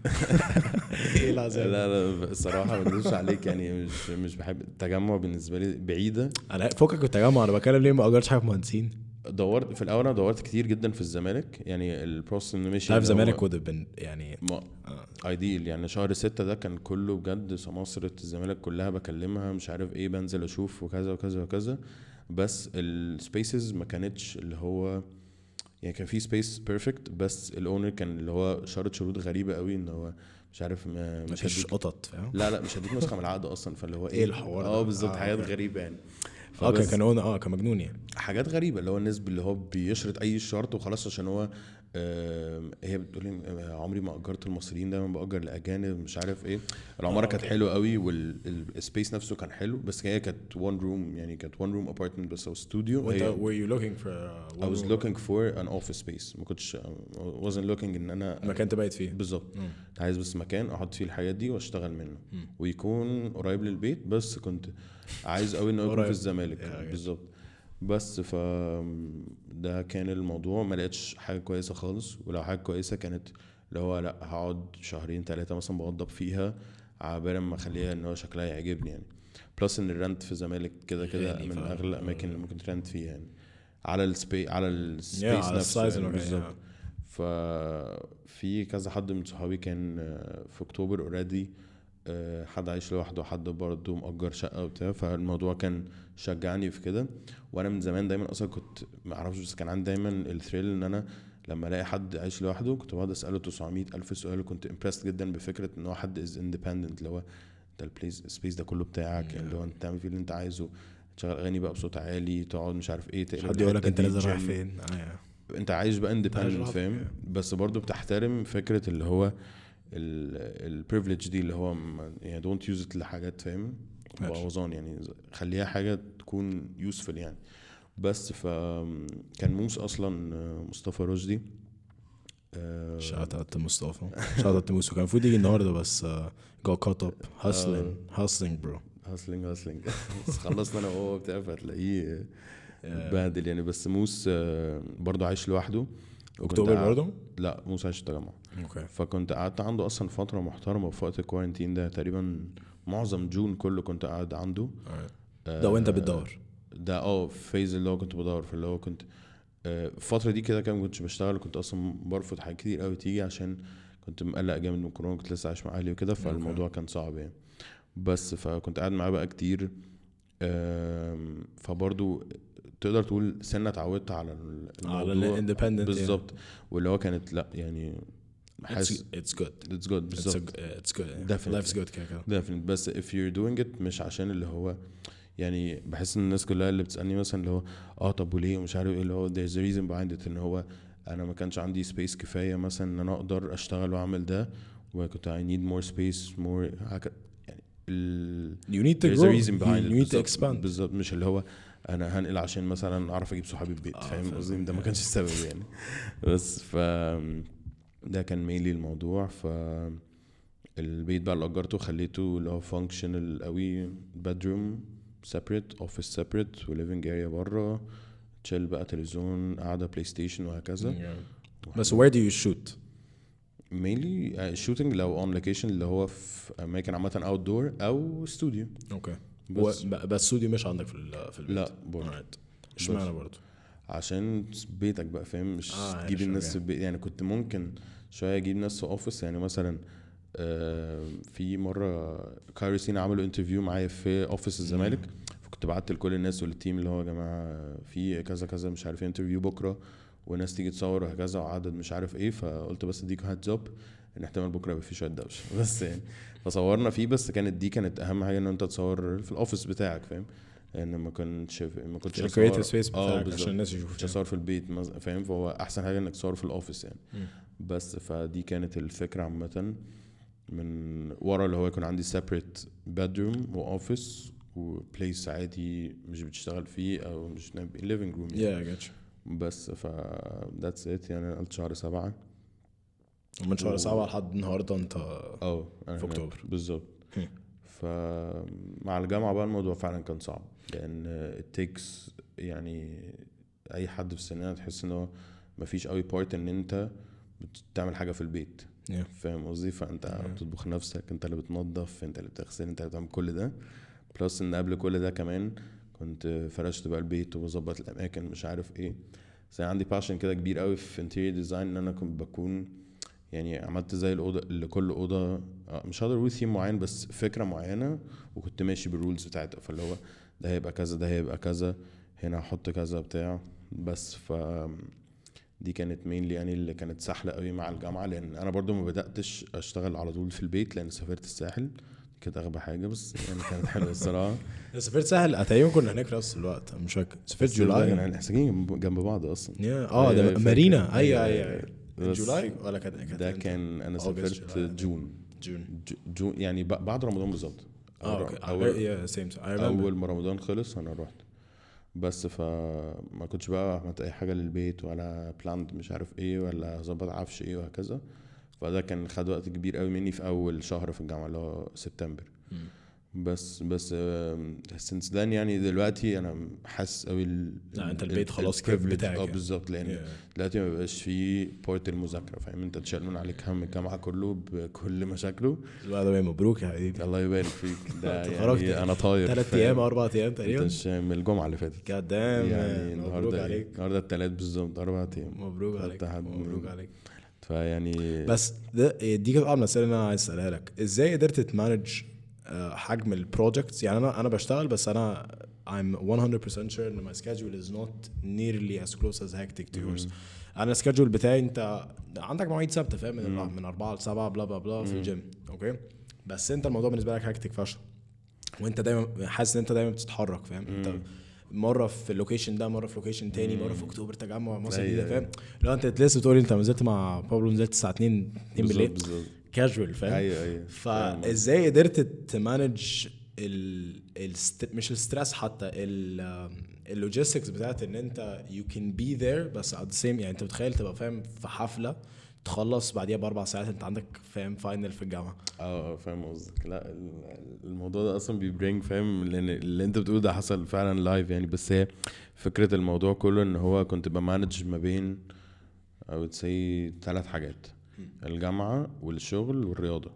ايه العذاب؟ لا لا الصراحه ما اكذبش عليك يعني مش مش بحب التجمع بالنسبه لي بعيده. انا فوقك التجمع انا بتكلم ليه ما اجرتش حاجه في مهندسين. دورت في الاول انا دورت كتير جدا في الزمالك يعني البروسس اللي ماشي في الزمالك وده بن يعني ايديل يعني شهر ستة ده كان كله بجد سماسرة الزمالك كلها بكلمها مش عارف ايه بنزل اشوف وكذا وكذا وكذا. بس السبيسز ما كانتش اللي هو يعني كان في سبيس بيرفكت بس الاونر كان اللي هو شرط شروط غريبه قوي ان هو مش عارف ما مش هديك قطط فاهم. لا لا مش هديك نسخه من العقد اصلا. فاللي هو ايه الحوار اه بالظبط آه حاجات غريبه يعني. اه كان هو اه كان مجنون يعني حاجات غريبه اللي هو الناس اللي هو بيشرط اي شرط وخلاص عشان هو آه هي بتقول لي عمري ما اجرت المصريين دايما باجر الاجانب مش عارف ايه. العماره آه كانت حلوه قوي والسبيس نفسه كان حلو بس هي كانت وان روم يعني كانت وان روم ابارتمنت بس او استوديو. وانت were you looking for I was looking for an office space. ما كنتش wasn't looking ان انا مكان تبيت فيه بالظبط. عايز بس مكان احط فيه الحاجات دي واشتغل منه م. ويكون قريب للبيت. بس كنت عايز قوي انه يكون في الزمالك بالظبط. بس ف ده كان الموضوع. ما لقيتش حاجه كويسه خالص. ولو حاجه كويسه كانت اللي هو لا هقعد شهرين ثلاثه مثلا بوضب فيها عبال ما اخليها ان هو شكلها يعجبني يعني. بلس ان الرنت في الزمالك كده كده من اغلى الاماكن اللي ممكن ترنت فيها يعني على السبيس على السبيس yeah, نفسه يعني بالظبط. ففي كذا حد من صحابي كان في اكتوبر اوريدي حد عايش لوحده حد برضه مأجر شقه وبتاع. فالموضوع كان شجعني في كده. وانا من زمان دايما اصلا كنت ما اعرفش بس كان عندي دايما الثريل ان انا لما الاقي حد عايش لوحده كنت بقعد اساله تسعمية الف سؤال. وكنت امبرست جدا بفكره ان هو حد از اندبندنت اللي هو ده البليس سبيس ده كله بتاعك يعني اللي هو انت تعمل فيه اللي انت عايزه تشغل اغاني بقى بصوت عالي تقعد مش عارف ايه حد يقول لك انت لازم رايح فين آه انت عايش بقى اندبندنت فاهم. بس برضو بتحترم فكره اللي هو البريفليج دي اللي هو يعني دونت يوز ات لحاجات فاهم بوظان يعني خليها حاجه تكون يوسفل يعني. بس فكان موس اصلا مصطفى رشدي شات اوت مصطفى شات اوت موس كان المفروض يجي النهارده بس جو كات اب هاسلينج هاسلينج برو هاسلينج هاسلينج خلصنا انا وهو بتاع فتلاقيه بهدل يعني. بس موس برضو عايش لوحده اكتوبر برضو. لا موس عايش في التجمع اوكي. فكنت قعدت عنده اصلا فتره محترمه في وقت الكوارنتين ده تقريبا معظم جون كله كنت قاعد عنده. ده وانت بتدور ده اه فيز اللي هو كنت بدور في اللي هو كنت الفتره دي كده كان كنتش بشتغل. كنت اصلا برفض حاجات كتير قوي تيجي عشان كنت مقلق جامد من كورونا. كنت لسه عايش مع اهلي وكده فالموضوع كان صعب يعني. بس فكنت قاعد معاه بقى كتير. فبرضو تقدر تقول سنه اتعودت على الموضوع على الاندبندنت بالظبط. واللي هو كانت لا يعني حاسس it's good it's good بالظبط it's good life's good كده كده definitely. بس if you're doing it مش عشان اللي هو يعني بحس ان الناس كلها اللي بتسالني مثلا اللي هو اه طب وليه ومش عارف ايه اللي هو there's a reason behind it ان هو انا ما كانش عندي سبيس كفايه مثلا ان انا اقدر اشتغل واعمل ده. وكنت I need more space more يعني ال you need to there's grow a reason behind you it need to expand بالظبط. مش اللي هو انا هنقل عشان مثلا اعرف اجيب صحابي البيت آه فاهم قصدي. ده ما كانش السبب يعني. بس ف ده كان مينلي الموضوع. ف البيت بقى اللي اجرته خليته اللي هو فانكشنال قوي bedroom separate office separate و living area بره تشيل بقى تلفزيون قاعده بلاي ستيشن وهكذا. yeah. بس where do you shoot mainly uh, shooting لو on location اللي هو في اماكن عامه outdoor او استوديو. اوكي okay. بس بس استوديو مش عندك في في البيت. لا برضه اشمعنى برضه عشان بيتك بقى فاهم مش آه تجيب الناس في البيت يعني. كنت ممكن شويه اجيب ناس في اوفيس يعني مثلا آه في مره كايروسين عملوا انترفيو معايا في اوفيس الزمالك. فكنت بعت لكل الناس والتيم اللي هو يا جماعه في كذا كذا مش عارف انترفيو بكره وناس تيجي تصور وهكذا وعدد مش عارف ايه. فقلت بس اديك هيدز اب ان احتمال بكره يبقى في شويه دوشه بس يعني فصورنا فيه. بس كانت دي كانت اهم حاجه ان انت تصور في الاوفيس بتاعك فاهم ان ما كنتش ما كنتش الكريتيف سبيس بتاعك عشان الناس يشوفوا مش اصور في البيت فاهم. فهو احسن حاجه انك تصور في الاوفيس يعني. م. بس فدي كانت الفكره عامه من ورا اللي هو يكون عندي separate bedroom واوفيس وبليس عادي مش بتشتغل فيه او مش living room يعني. yeah, بس ف that's it يعني. قلت شهر سبعة ومن شهر و... سبعة لحد النهارده انت اه في اكتوبر بالظبط. فمع الجامعه بقى الموضوع فعلا كان صعب لان it takes يعني اي حد في سننا تحس انه مفيش قوي بارت ان انت بتعمل حاجه في البيت yeah. فاهم قصدي. فانت yeah. بتطبخ نفسك انت اللي بتنظف انت اللي بتغسل انت اللي بتعمل كل ده. بلس ان قبل كل ده كمان كنت فرشت بقى البيت وبظبط الاماكن مش عارف ايه. بس عندي باشن كده كبير قوي في انتيريور ديزاين ان انا كنت بكون يعني عملت زي الاوضه اللي كل اوضه مش هقدر اقول ثيم معين بس فكره معينه وكنت ماشي بالرولز بتاعتها. فاللي هو ده هيبقى كذا ده هيبقى كذا هنا هحط كذا بتاع. بس ف دي كانت مين يعني اللي كانت سهله قوي مع الجامعه لان انا برضو ما بداتش اشتغل على طول في البيت لان سافرت الساحل كده اغبى حاجه بس يعني كانت حلوه الصراحه. سافرت ساحل اتايون كنا هناك في نفس الوقت مش فاكر. سافرت جولاي يعني احنا ساكنين جنب بعض اصلا. اه ده مارينا ايوه ايوه جولاي ولا كان ده كان انا سافرت جون جون جون يعني بعد رمضان بالظبط. اه اول اول ما رمضان خلص انا رحت بس فما كنتش بقى عملت اي حاجه للبيت ولا بلاند مش عارف ايه ولا ظبط عفش ايه وهكذا. فده كان خد وقت كبير قوي مني في اول شهر في الجامعه اللي هو سبتمبر. م. بس بس since then يعني دلوقتي انا حاسس قوي لا انت البيت خلاص كيف بتاعك اه بالظبط لان yeah. دلوقتي ما بقاش في بورت المذاكره فاهم. انت تشيل من عليك هم الجامعه كله بكل مشاكله. الله مبروك يا حبيبي الله يبارك فيك. ده يعني انا طاير ثلاث ايام اربع ايام تقريبا انت من الجمعه اللي فاتت قدام يعني النهارده النهارده الثلاث بالظبط اربع ايام. مبروك عليك مبروك عليك. فيعني بس دي كانت اول مساله اللي انا عايز اسالها لك ازاي قدرت تمانج حجم البروجكتس. يعني انا انا بشتغل بس انا I'm one hundred percent sure ان my schedule is not nearly as close as hectic to yours. انا السكادجول بتاعي انت عندك مواعيد ثابته فاهم من من أربعة ل سبعة بلا بلا بلا في الجيم اوكي. بس انت الموضوع بالنسبه لك هكتك فشخ وانت دايما حاسس ان انت دايما بتتحرك فاهم. انت مره في اللوكيشن ده مره في لوكيشن تاني مره في اكتوبر تجمع مصر الجديده فاهم. لو انت لسه بتقول انت نزلت مع بابلو نزلت الساعه اتنين بالليل كاجوال فاهم. ايوه ايوه. فازاي قدرت تمانج ال ال مش الستريس حتى اللوجيستكس بتاعت ان انت you can be there بس at the same يعني انت بتخيل تبقى فاهم في حفله تخلص بعديها باربع ساعات انت عندك فاهم فاينل في الجامعه. اه فاهم قصدك. لا الموضوع ده اصلا بيبرينج فاهم لان اللي انت بتقوله ده حصل فعلا لايف يعني. بس هي فكره الموضوع كله ان هو كنت بمانج ما بين I would say ثلاث حاجات الجامعه والشغل والرياضه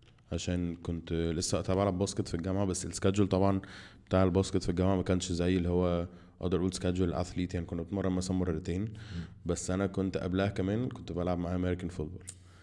عشان كنت لسه اتابع على الباسكت في الجامعه. بس السكادجول طبعا بتاع الباسكت في الجامعه ما كانش زي اللي هو اقدر اقول سكادجول اثليت يعني. كنا بنتمرن مثلا مرتين بس انا كنت قبلها كمان كنت بلعب مع امريكان فوتبول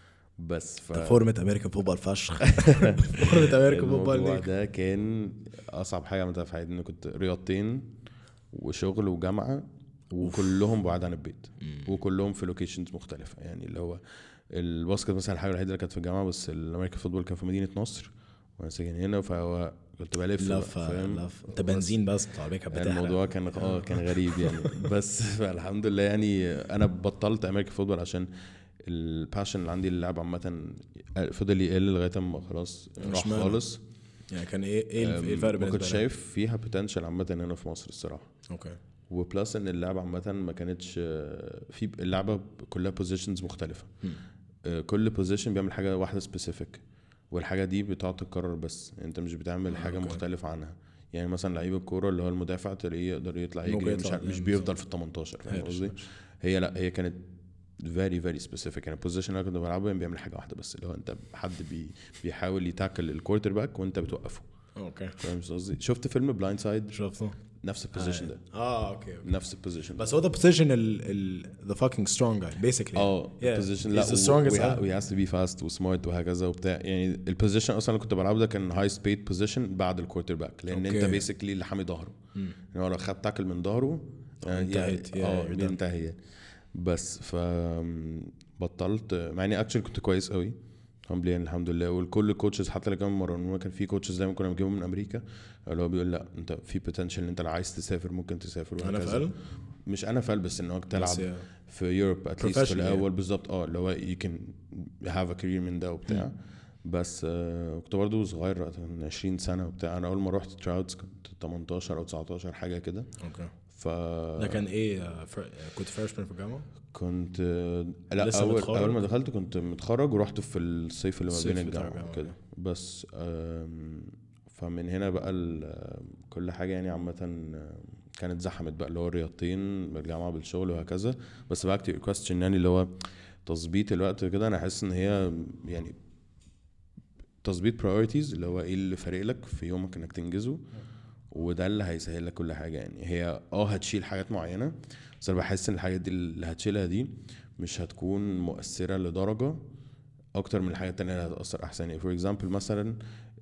بس ف فورمه امريكان فوتبول فشخ. فورمه امريكان فوتبول ده كان اصعب حاجه عملتها في حياتي. ان كنت رياضتين وشغل وجامعه وكلهم بعاد عن البيت وكلهم في لوكيشنز مختلفه يعني. اللي هو الباسكت مثلا الحاجه الوحيده اللي كانت في الجامعه بس الامريكان فوتبول كان في مدينه نصر وانا ساكن هنا. فهو كنت بلف فاهم انت بنزين بس طالبك بتاعك. الموضوع كان اه كان غريب يعني. بس فالحمد لله يعني انا بطلت امريكان فوتبول عشان الباشن اللي عندي اللعب عامه فضل يقل لغايه ما خلاص راح خالص يعني. كان ايه ايه الفرق بالنسبه لك؟ كنت شايف فيها بوتنشال عامه هنا في مصر الصراحه. اوكي. وبلس ان اللعبه عامه ما كانتش في اللعبه كلها بوزيشنز مختلفه. كل بوزيشن بيعمل حاجه واحده سبيسيفيك والحاجه دي بتقعد تتكرر بس انت مش بتعمل حاجه أوكي. مختلفه عنها يعني. مثلا لعيب الكوره اللي هو المدافع تلاقيه يقدر يطلع يجري مش, مش بيفضل في التمنتاشر فاهم قصدي. هي لا هي كانت very very specific يعني. البوزيشن اللي كنت بلعبه بيعمل حاجه واحده بس اللي هو انت حد بي بيحاول يتاكل الكوارتر باك وانت بتوقفه. اوكي فاهم قصدي. شفت فيلم بلايند سايد؟ شفته نفس البوزيشن ده. اه اوكي, أوكي. نفس البوزيشن بس هو ده بوزيشن ال the fucking strong guy basically. اه البوزيشن لا we has to be fast وسمارت وهكذا وبتاع يعني. البوزيشن اصلا اللي كنت بلعبه ده كان هاي سبيد بوزيشن بعد الكوارتر باك لان okay. انت بيسكلي اللي حامي ظهره يعني. هو لو خد تاكل من ظهره انتهت اه انتهى. بس ف بطلت مع اني اكشلي كنت كويس قوي humbly يعني الحمد لله. والكل الكوتشز حتى اللي كانوا مرنونا كان في كوتشز دايما كنا بنجيبهم من امريكا اللي هو بيقول لا انت في potential انت لو عايز تسافر ممكن تسافر انا وهكذا. فعلا مش انا فعل بس انك تلعب بس يا في يوروب اتليست في professional الاول يعني. بالظبط اه اللي هو you can have a career من ده وبتاع. بس آه كنت برضو صغير وقت من عشرين سنة وبتاع. انا اول ما رحت تراوتس كنت تمنتاشر او تسعتاشر حاجة كده. اوكي ف ده كان ايه آه، فر... كنت فريشمان في الجامعه كنت آه، لا لسه اول متخرج؟ اول ما دخلت كنت متخرج ورحت في الصيف اللي ما الصيف بين بتاع الجامعة الجامعة. وكده. بس آم، فمن هنا بقى ال- كل حاجة يعني عامة آه، كانت زحمت بقى اللي هو الرياضتين بالجامعة بالشغل وهكذا. بس back to your question يعني اللي هو تظبيط الوقت كده انا حاسس ان هي يعني تظبيط priorities اللي هو ايه اللي فارق لك في يومك انك تنجزه وده اللي هيسهل لك كل حاجه. يعني هي اه هتشيل حاجات معينه بس انا بحس ان الحاجات دي اللي هتشيلها دي مش هتكون مؤثره لدرجه اكتر من الحاجات التانية اللي هتأثر احسن. يعني فور اكزامبل مثلا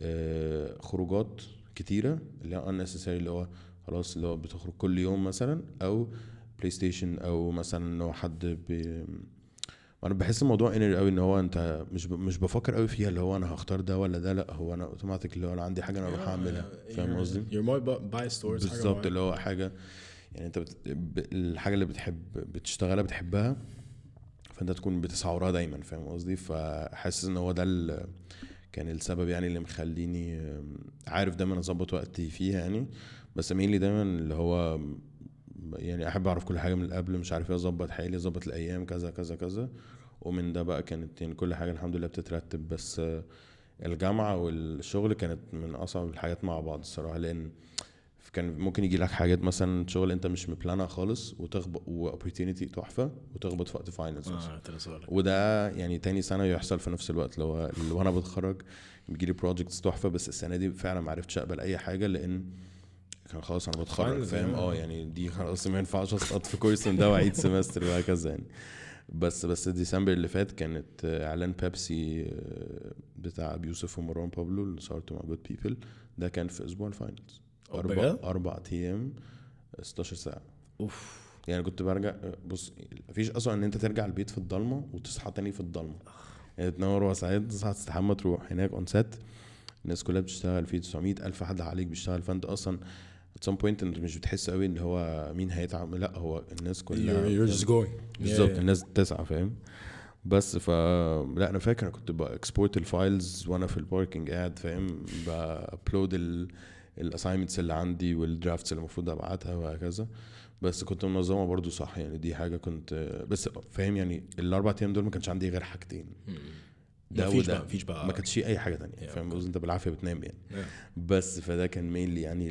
آه، خروجات كتيره اللي هي unnecessary اللي هو خلاص اللي هو بتخرج كل يوم مثلا او بلاي ستيشن او مثلا انه حد بي انا بحس الموضوع انر قوي ان هو انت مش ب... مش بفكر قوي فيها اللي هو انا هختار ده ولا ده. لا هو انا اوتوماتيك اللي هو انا عندي حاجه انا اروح اعملها. فاهم قصدي؟ you're more biased towards حاجه بالظبط اللي معينه. هو حاجه يعني انت بت... ب... الحاجه اللي بتحب بتشتغلها بتحبها فانت تكون بتسعى وراها دايما. فاهم قصدي؟ فحاسس ان هو ده ال... كان السبب يعني اللي مخليني آم، عارف دايما اظبط وقتي فيها يعني. بس مين لي دايما اللي هو يعني احب اعرف كل حاجه من قبل مش عارف ايه اظبط حالي اظبط الايام كذا كذا كذا. ومن ده بقى كانت يعني كل حاجه الحمد لله بتترتب. بس آه، الجامعه والشغل كانت من اصعب الحاجات مع بعض الصراحه لان كان ممكن يجي لك حاجات مثلا شغل انت مش مبلانها خالص وتخبط واوبورتيونيتي تحفه وتخبط في وقت فاينلز اه تلسؤالك. وده يعني تاني سنه يحصل في نفس الوقت لو اللي وانا بتخرج بيجيلي بروجكتس تحفه. بس السنه دي فعلا ما عرفتش اقبل اي حاجه لان كان خلاص انا بتخرج. Finals فاهم يعني. اه يعني دي خلاص ما ينفعش اسقط في كورس من ده واعيد سمستر وهكذا يعني. بس بس ديسمبر اللي فات كانت آه، اعلان بيبسي آه، بتاع ابي يوسف ومروان بابلو اللي صورته مع جود بيبل. ده كان في اسبوع الفاينلز أو اربع بجد؟ اربع ايام ستاشر ساعه. اوف يعني كنت برجع بص مفيش اصلا ان انت ترجع البيت في الضلمه وتصحى تاني في الضلمه. يعني تنور وساعات تصحى تستحمى تروح هناك اون سيت الناس كلها بتشتغل في تسعمية الف حد عليك بيشتغل. فانت اصلا at some point انت مش بتحس قوي ان هو مين هيتعب. لا هو الناس كلها you're, you're just going. بالظبط Yeah, yeah. الناس تسعى. فاهم؟ بس ف لا انا فاكر انا كنت باكسبورت الفايلز وانا في الباركينج قاعد فاهم بابلود الاساينمنتس اللي عندي والدرافتس اللي المفروض ابعتها وهكذا. بس كنت منظمه برضو صح يعني دي حاجه كنت بس فاهم يعني الاربع ايام دول ما كانش عندي غير حاجتين ده مفيش وده بقى مفيش بقى ما كانتش اي حاجه تانية. Yeah, فاهم okay. قصدي؟ انت بالعافيه بتنام يعني. Yeah. بس فده كان مينلي يعني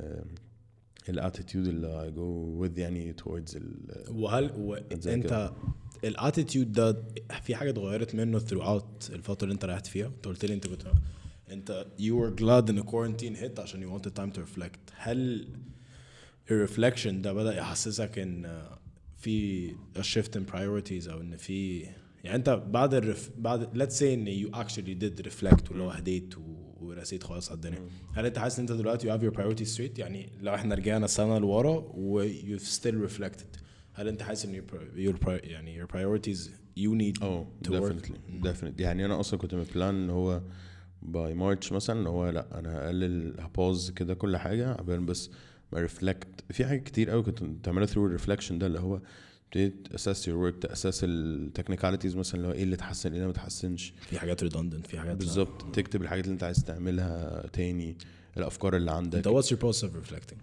الاتيتيود اللي I go with يعني towards ال وهل و... زي كده. انت الاتيتيود ده في حاجه اتغيرت منه throughout الفتره اللي انت ريحت فيها؟ انت قلت لي انت كنت انت you were glad in the quarantine hit عشان you wanted time to reflect. هل الرeflection ده بدأ يحسسك ان في a shift in priorities او ان في يعني انت بعد الرف... بعد let's say ان you actually did reflect واللي هو هديت و... ورسيت خلاص على الدنيا. هل انت حاسس ان انت دلوقتي you have your priorities straight؟ يعني لو احنا رجعنا سنه لورا و you've still reflected هل انت حاسس ان your, your pri... يعني your priorities you need oh to definitely work؟ definitely يعني انا اصلا كنت مبلان ان هو باي مارتش مثلا ان هو لا انا هقلل هبوز كده كل حاجه عبال بس ما ريفلكت في حاجات كتير قوي كنت بتعملها ثرو الريفلكشن ده اللي هو ابتديت اساس يور ورك تاساس التكنيكاليتيز مثلا اللي هو ايه اللي اتحسن ايه اللي ما اتحسنش. في حاجات redundant في حاجات بالظبط تكتب الحاجات اللي انت عايز تعملها تاني الافكار اللي عندك. انت what's your process of reflecting؟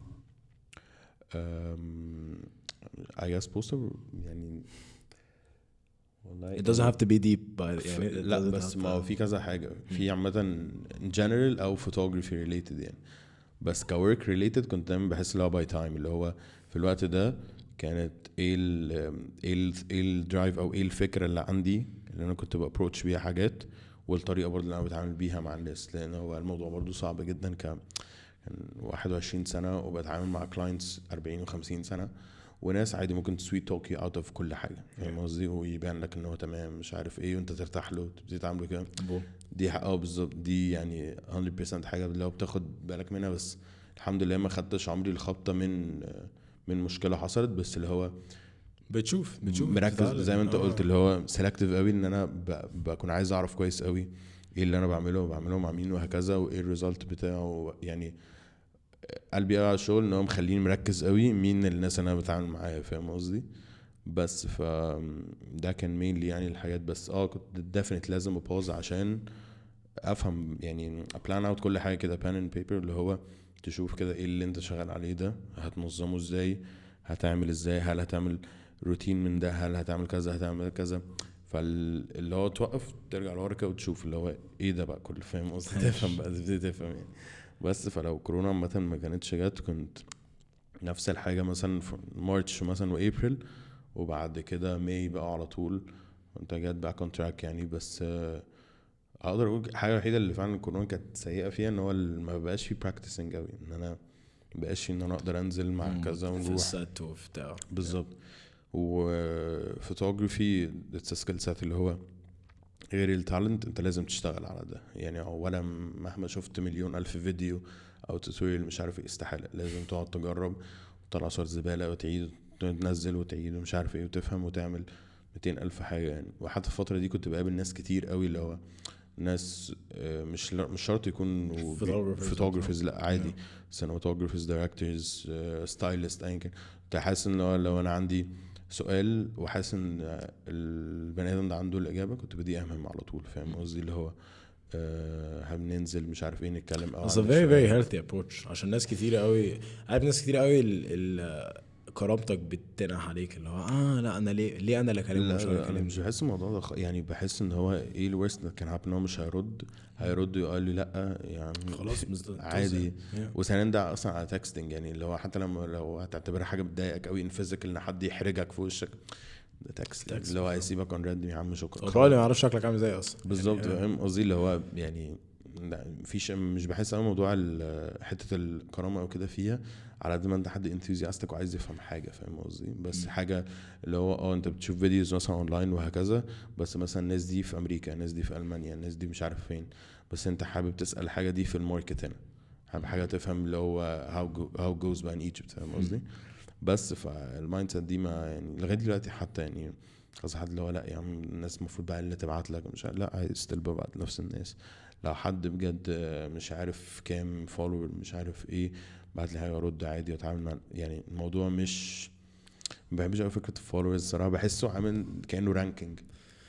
um, I guess poster يعني والله it doesn't have to be deep by يعني it لا doesn't بس have ما هو to- في كذا حاجة في عامة general أو photography related يعني. بس كwork related كنت دايما بحس اللي هو by time اللي هو في الوقت ده كانت ايه ال ايه ال ايه الدرايف او ايه الفكرة اللي عندي اللي انا كنت بابروتش بيها حاجات والطريقة برضه اللي انا بتعامل بيها مع الناس لان هو الموضوع برضه صعب جدا ك كان واحد وعشرين سنة وبتعامل مع كلاينتس أربعين وخمسين سنة وناس عادي ممكن تسويت توك يو اوت اوف كل حاجه. فاهم قصدي؟ ويبان لك ان هو تمام مش عارف ايه وانت ترتاح له تبتدي تعمله كده. دي اه بالظبط دي يعني مية بالمية حاجه اللي هو بتاخد بالك منها. بس الحمد لله ما خدتش عمري الخبطه من من مشكله حصلت بس اللي هو بتشوف بتشوف مركز بتتعلم. زي ما انت آه. قلت اللي هو سيلكتيف قوي ان انا ب- بكون عايز اعرف كويس قوي ايه اللي انا بعمله بعمله مع مين وهكذا وايه الريزلت بتاعه. يعني قلبي قوي على الشغل ان هو مخليني مركز قوي مين الناس اللي انا بتعامل معاها فاهم قصدي. بس ف ده كان مينلي يعني الحاجات. بس اه كنت ديفينيت لازم ابوز عشان افهم يعني بلان اوت كل حاجه كده بان اند بيبر اللي هو تشوف كده ايه اللي انت شغال عليه ده هتنظمه ازاي هتعمل ازاي هل هتعمل روتين من ده هل هتعمل كذا هتعمل كذا. فاللي هو توقف ترجع لورا كده وتشوف اللي هو ايه ده بقى كله فاهم قصدي تفهم بقى تبتدي تفهم يعني. بس فلو كورونا عامه ما كانتش جت كنت نفس الحاجه مثلا في مارتش مثلا وابريل وبعد كده ماي بقى على طول انت جات بقى كونتراكت يعني. بس آه، اقدر اقول الحاجه الوحيده اللي فعلا الكورونا كانت سيئه فيها ان هو ما بقاش فيه براكتسنج قوي ان انا ما بقاش فيه ان انا اقدر انزل مع كذا في ونروح السات وبتاع بالظبط. وفوتوغرافي اتس سكيل سيت اللي هو غير التالنت انت لازم تشتغل على ده يعني. اولا مهما شفت مليون الف فيديو او توتوريال مش عارف ايه استحاله لازم تقعد تجرب وتطلع صور زباله وتعيد تنزل وتعيد ومش عارف ايه وتفهم وتعمل مئتين الف حاجه يعني. وحتى الفتره دي كنت بقابل ناس كتير قوي اللي هو ناس آه، مش مش شرط يكونوا Photographers. فوتوغرافرز لا عادي سينماتوجرافرز دايركتورز ستايلست ايا كان. كنت حاسس ان هو لو انا عندي سؤال وحاسس ان آه، البني ادم ده عنده الاجابه كنت بدي اهمم على طول فاهم قصدي اللي هو آه، هننزل مش عارف ايه نتكلم او It's a very very healthy approach عشان ناس كتير قوي عارف ناس كتير قوي ال ال كرامتك بتنح عليك اللي هو اه لا انا ليه ليه انا اللي اكلمه لا مش لا انا هكلمه. مش بحس الموضوع ده خ- يعني بحس ان هو ايه الورست كان هابن هو مش هيرد هيرد ويقول لي لا يعني خلاص مش عادي. Yeah. وثانيا ده اصلا على تكستنج يعني اللي هو حتى لما لو هتعتبرها حاجه بتضايقك قوي ان فيزيكال ان حد يحرجك في وشك ده تكست Text اللي هو هيسيبك اون ريد يا عم شكرا هو probably ما يعرفش شكلك عامل ازاي اصلا بالظبط يعني. فاهم قصدي اللي هو يعني لا مفيش مش بحس انا موضوع ال- حته الكرامه او كده فيها على قد ما انت حد انثوزياستك وعايز يفهم حاجه فاهم قصدي. بس م. حاجه اللي هو اه انت بتشوف فيديوز مثلا اونلاين وهكذا بس مثلا الناس دي في امريكا الناس دي في المانيا الناس دي مش عارف فين بس انت حابب تسال الحاجه دي في الماركت هنا حابب حاجه تفهم اللي هو how go, how goes by in Egypt فاهم قصدي. بس فالمايند سيت دي ما يعني لغايه دلوقتي حتى يعني قصدي حد اللي هو لا يا عم الناس المفروض بقى اللي تبعت لك مش عارف لا عايز ستيل ببعت نفس الناس. لو حد بجد مش عارف كام فولور مش عارف ايه بعت لي حاجه ارد عادي واتعامل مع يعني الموضوع مش ما بحبش قوي فكره الفولورز الصراحه بحسه عامل كانه رانكينج.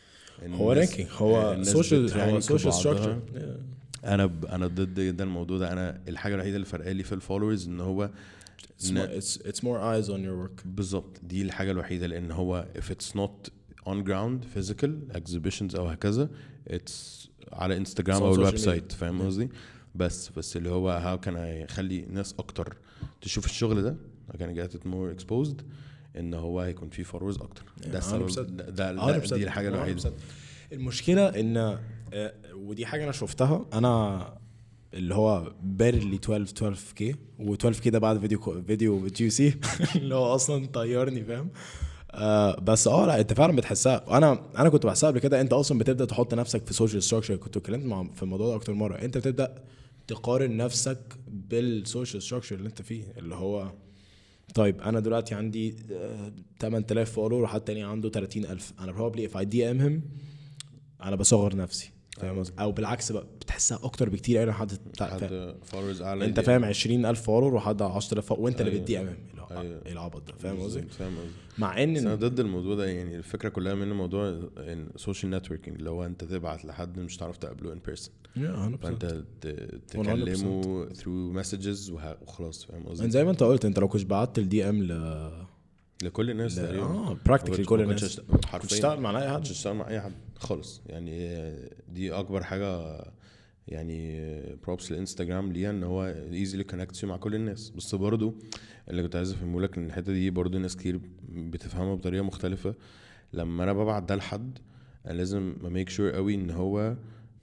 هو رانكينج هو سوشيال هو سوشيال ستراكشر. انا ب... انا ضد جدا الموضوع ده. انا الحاجه الوحيده اللي فرقالي لي في الفولورز ان هو It's more, it's it's more eyes on your work. بالظبط دي الحاجة الوحيدة لأن هو if it's not on ground physical exhibitions أو هكذا it's على انستجرام It's on أو social الويب media. سايت فاهم Yeah. قصدي. بس بس اللي هو how can I يخلي ناس أكتر تشوف الشغل ده how can I get it more exposed إن هو هيكون فيه followers أكتر. ده السبب ده, ده, ده دي الحاجة الوحيدة. المشكلة إن آه، ودي حاجة أنا شفتها أنا اللي هو بارلي اتناشر اتناشر كي و اتناشر كي ده بعد فيديو فيديو جي سي اللي هو اصلا طيرني فاهم. آه بس اه لا انت فعلا بتحسها. انا انا كنت بحسها قبل كده. انت اصلا بتبدا تحط نفسك في سوشيال ستراكشر. كنت اتكلمت مع في الموضوع ده اكتر مره. انت بتبدا تقارن نفسك بالسوشيال ستراكشر اللي انت فيه اللي هو طيب انا دلوقتي عندي آه، تمن تلاف فولور وحد تاني عنده تلاتين الف. انا probably if I دي ام him انا بصغر نفسي فاهم قصدي. او بالعكس بقى بتحسها اكتر بكتير قوي حد حد فولورز اعلى انت فاهم عشرين الف فولور وحد عشرة آلاف وانت اللي أيوة. بتدي امام أيوة. ايه العبط ده فاهم قصدي. فاهم قصدي. مع ان بس انا ضد الموضوع ده يعني. الفكره كلها من الموضوع ان سوشيال نتوركينج اللي هو انت تبعت لحد مش تعرف تقابله ان بيرسون فانت تكلمه ثرو مسجز وخلاص فاهم قصدي. زي ما انت قلت انت لو كنت بعت الدي ام ل لكل الناس ل... تقريبا اه براكتيكلي كل الناس حرفيا تشتغل مع اي حد تشتغل مع اي حد خالص يعني. دي اكبر حاجه يعني بروبس الانستجرام ليها ان هو ايزيلي كونكت مع كل الناس. بس برضو اللي كنت عايز افهمه لك ان الحته دي برضو ناس كتير بتفهمها بطريقه مختلفه. لما انا ببعت ده لحد انا لازم اميك شور قوي ان هو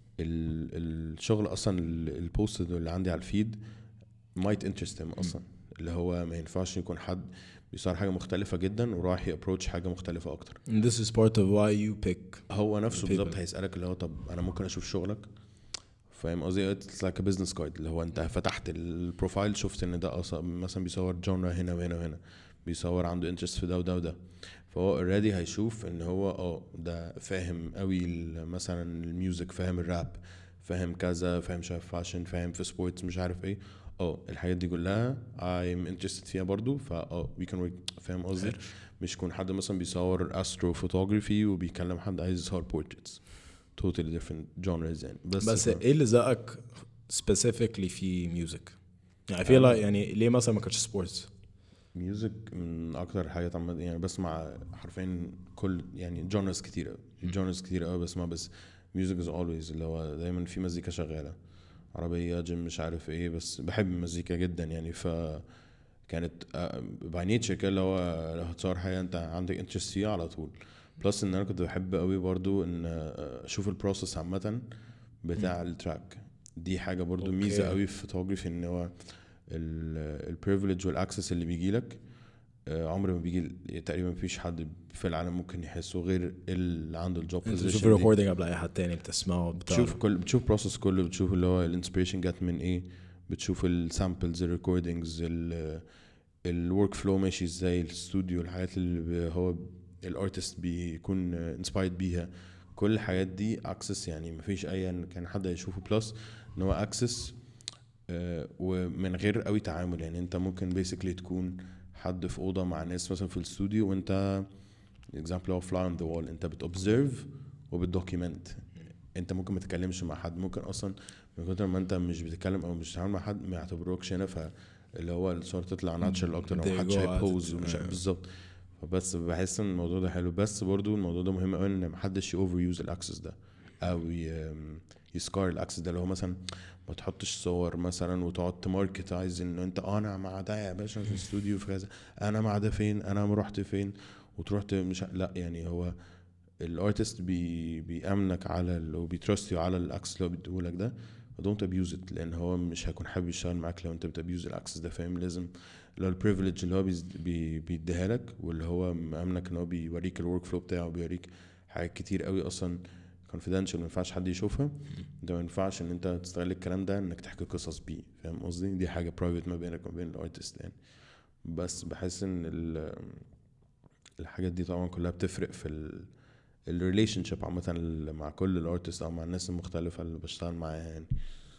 الشغل اصلا البوست اللي عندي على الفيد مايت انترست اصلا اللي هو ما ينفعش يكون حد بيصير حاجه مختلفه جدا وراح يابروتش حاجه مختلفه اكتر. This is part of why you pick. هو نفسه بالظبط هيسالك اللي هو طب انا ممكن اشوف شغلك فاهم قصدي. اتس لايك بزنس جايد اللي هو انت فتحت البروفايل شفت ان ده اصلا مثلا بيصور جونرا هنا وهنا وهنا بيصور عنده انترست في ده وده وده، فهو اوريدي هيشوف ان هو اه ده فاهم قوي مثلا الميوزك، فاهم الراب، فاهم كذا، فاهم شايف فاشن، فاهم في سبورتس مش عارف ايه، اه الحاجات دي كلها I'm interested فيها برضو، فا اه we can work. فاهم قصدي؟ مش يكون حد مثلا بيصور استرو فوتوغرافي وبيكلم حد عايز يصور بورتريتس، totally different genres يعني. بس بس ف... ايه اللي زقك specifically في ميوزك؟ يعني في لا يعني ليه مثلا ما كانش سبورتس؟ ميوزك من اكتر الحاجات عامه يعني، بسمع حرفيا كل يعني جونرز كتير قوي، جونرز كتير قوي بسمع، بس ميوزك از اولويز اللي هو دايما في مزيكا شغاله، عربيه جيم مش عارف ايه، بس بحب المزيكا جدا يعني. ف كانت باي نيتشر كده اللي هو لو هتصور حاجه انت عندك انترست فيها على طول. بلس ان انا كنت بحب قوي برضو ان اشوف البروسيس عامه بتاع التراك، دي حاجه برضو ميزه قوي في فوتوغرافي، ان هو البريفليج والاكسس اللي بيجي لك عمر ما بيجي تقريبا، مفيش حد في العالم ممكن يحسه غير اللي عنده الجوب انت بوزيشن. بتشوف الريكوردينج قبل اي حد تاني، بتسمعه، بتشوف كل بتشوف بروسس كله، بتشوف اللي هو الانسبيريشن جت من ايه، بتشوف السامبلز، الريكوردينجز، الورك فلو ماشي ازاي، الاستوديو، الحاجات اللي هو الارتست بيكون انسبايرد بيها، كل الحاجات دي اكسس يعني مفيش اي كان حد يشوفه. بلس ان هو اكسس ومن غير قوي تعامل يعني، انت ممكن بيسكلي تكون حد في اوضه مع ناس مثلا في الاستوديو، وانت example of fly on the wall، انت بتobserve وبتدوكيمنت، انت ممكن ما تتكلمش مع حد، ممكن اصلا من كتر ما انت مش بتتكلم او مش بتتعامل مع حد ما يعتبروكش هنا، فاللي هو الصور تطلع ناتشرال اكتر، او محدش هيبوز ومش بالظبط. فبس بحس ان الموضوع ده حلو، بس برضو الموضوع ده مهم قوي ان محدش يوفر يوز الاكسس ده او يسكار الاكسس ده، اللي هو مثلا ما تحطش صور مثلا وتقعد تماركتايز ان انت انا مع ده يا باشا في الاستوديو في كذا، انا مع ده فين، انا رحت فين، وتروح مش لا يعني. هو الارتست بي بيامنك على ال وبيترستيو على الاكسس اللي هو بيديهولك ده، دونت ابيوز ات، لان هو مش هيكون حابب يشتغل معاك لو انت بتابيوز الاكسس ده. فاهم؟ لازم لو البريفليج اللي هو بي بيديها لك، واللي هو مامنك ان هو بيوريك الورك فلو بتاعه، بيوريك حاجات كتير قوي اصلا confidential ما ينفعش حد يشوفها، ده ما ينفعش ان انت تستغل الكلام ده انك تحكي قصص بيه. فاهم قصدي؟ دي حاجه برايفت ما بينك وما بين الارتست يعني. بس بحس ان الحاجات دي طبعا كلها بتفرق في الريليشن شيب عامه مع كل الارتست او مع الناس المختلفه اللي بشتغل معاها يعني.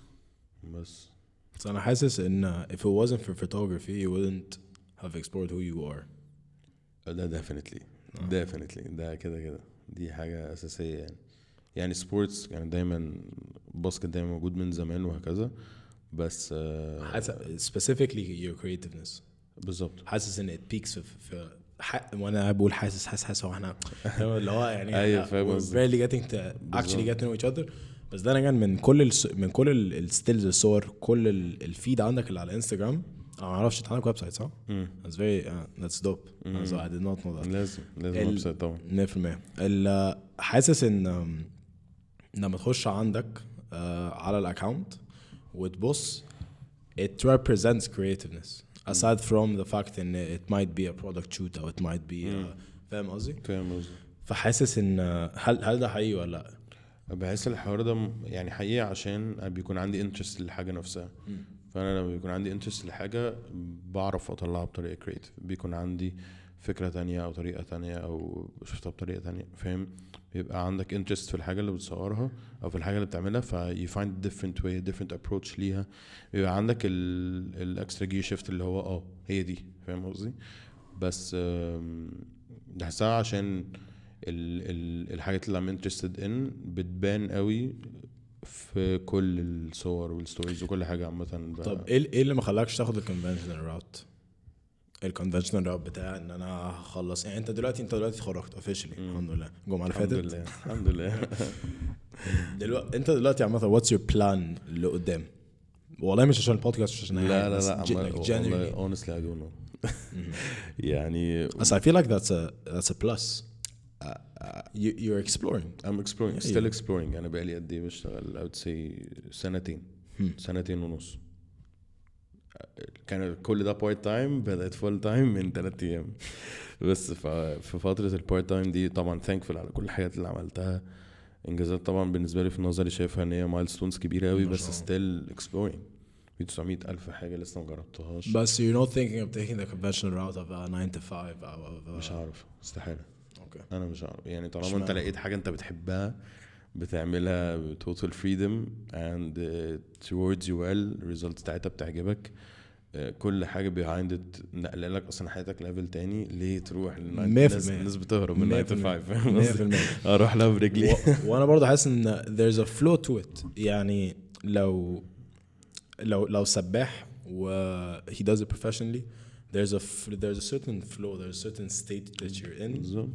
بس بس انا حاسس ان if it wasn't for photography you wouldn't have explored who you are. ده definitely definitely ده كده كده دي حاجه اساسيه يعني. يعني سبورتس كان يعني دايما باسكت دايما موجود من زمان وهكذا، بس حاسس specifically your creativeness. بالظبط. حاسس ان it peaks في, في حق، وانا بقول حاسس حاسس حاسس هو احنا اللي هو يعني ايوه فاهم we're barely getting to actually get to know each other. بس ده انا كان من كل الس... من كل الستيلز الصور، كل الفيد عندك اللي على الانستغرام، انا ما اعرفش انت عندك ويب سايت صح؟ امم that's very uh, that's dope. so I did not know that. لازم لازم ويب سايت طبعا مية في المية. حاسس ان لما تخش عندك uh, على الاكونت وتبص it represents creativeness aside from the fact ان it might be a product shoot او it might be uh, فاهم قصدي؟ فاهم قصدي. فحاسس ان هل هل ده حقيقي ولا لا؟ بحس الحوار ده يعني حقيقي عشان بيكون عندي انترست للحاجه نفسها. فانا لما بيكون عندي انترست لحاجه بعرف اطلعها بطريقه كريتيف، بيكون عندي فكره تانية او طريقه تانية او شفتها بطريقه تانية. فاهم؟ بيبقى عندك انترست في الحاجه اللي بتصورها او في الحاجه اللي بتعملها، في you find different way different approach ليها، بيبقى عندك الاكسترا جير شيفت اللي هو اه هي دي. فاهم قصدي؟ بس بحسها عشان ال ال الحاجات اللي I'm interested in بتبان قوي في كل الصور والستوريز وكل حاجه عامه. طب ايه ايه اللي ما خلاكش تاخد الكونفنشنال راوت؟ الكونفنشنال راوت بتاع ان انا هخلص يعني، انت دلوقتي انت دلوقتي اتخرجت اوفيشلي الحمد لله الجمعه اللي فاتت الحمد لله الحمد لله. دلوقتي انت دلوقتي عامه واتس يور بلان اللي قدام؟ والله مش عشان البودكاست، مش عشان اي لا حاجه، لا بس لا like genuinely. والله honestly I don't know. يعني بس I feel like that's a that's a plus. You you're exploring. I'm exploring Yeah, still yeah. exploring. أنا بقالي قد إيه بشتغل؟ I would say سنتين سنتين ونص. كان كل ده بارت تايم، بدأت فول تايم من ثلاثة أيام بس. في فترة البارت تايم دي طبعا thankful على كل الحاجات اللي عملتها، إنجازات طبعا بالنسبة لي في نظري شايفها إن هي مايلستونز كبيرة أوي، بس still exploring في تسعمية ألف حاجة لسه ما جربتهاش. بس you're not thinking of taking the conventional route of a nine to five أو of a... مش عارف استحالة. اوكي انا مش عارف يعني طالما اشمعنى؟ انت لقيت حاجة انت بتحبها بتعملها ب total freedom and uh, towards you well results بتاعتها بتعجبك uh, كل حاجة behind it نقل لك اصلا حياتك ليفل تاني ليه تروح الناس الناس بتهرب من nine to five مية في المية اروح لها برجلي. و... وانا برضه حاسس ان there's a flow to it. يعني لو لو لو سباح و he does it professionally there's a f- there's a certain flow, there's a certain state that you're in. بالظبط.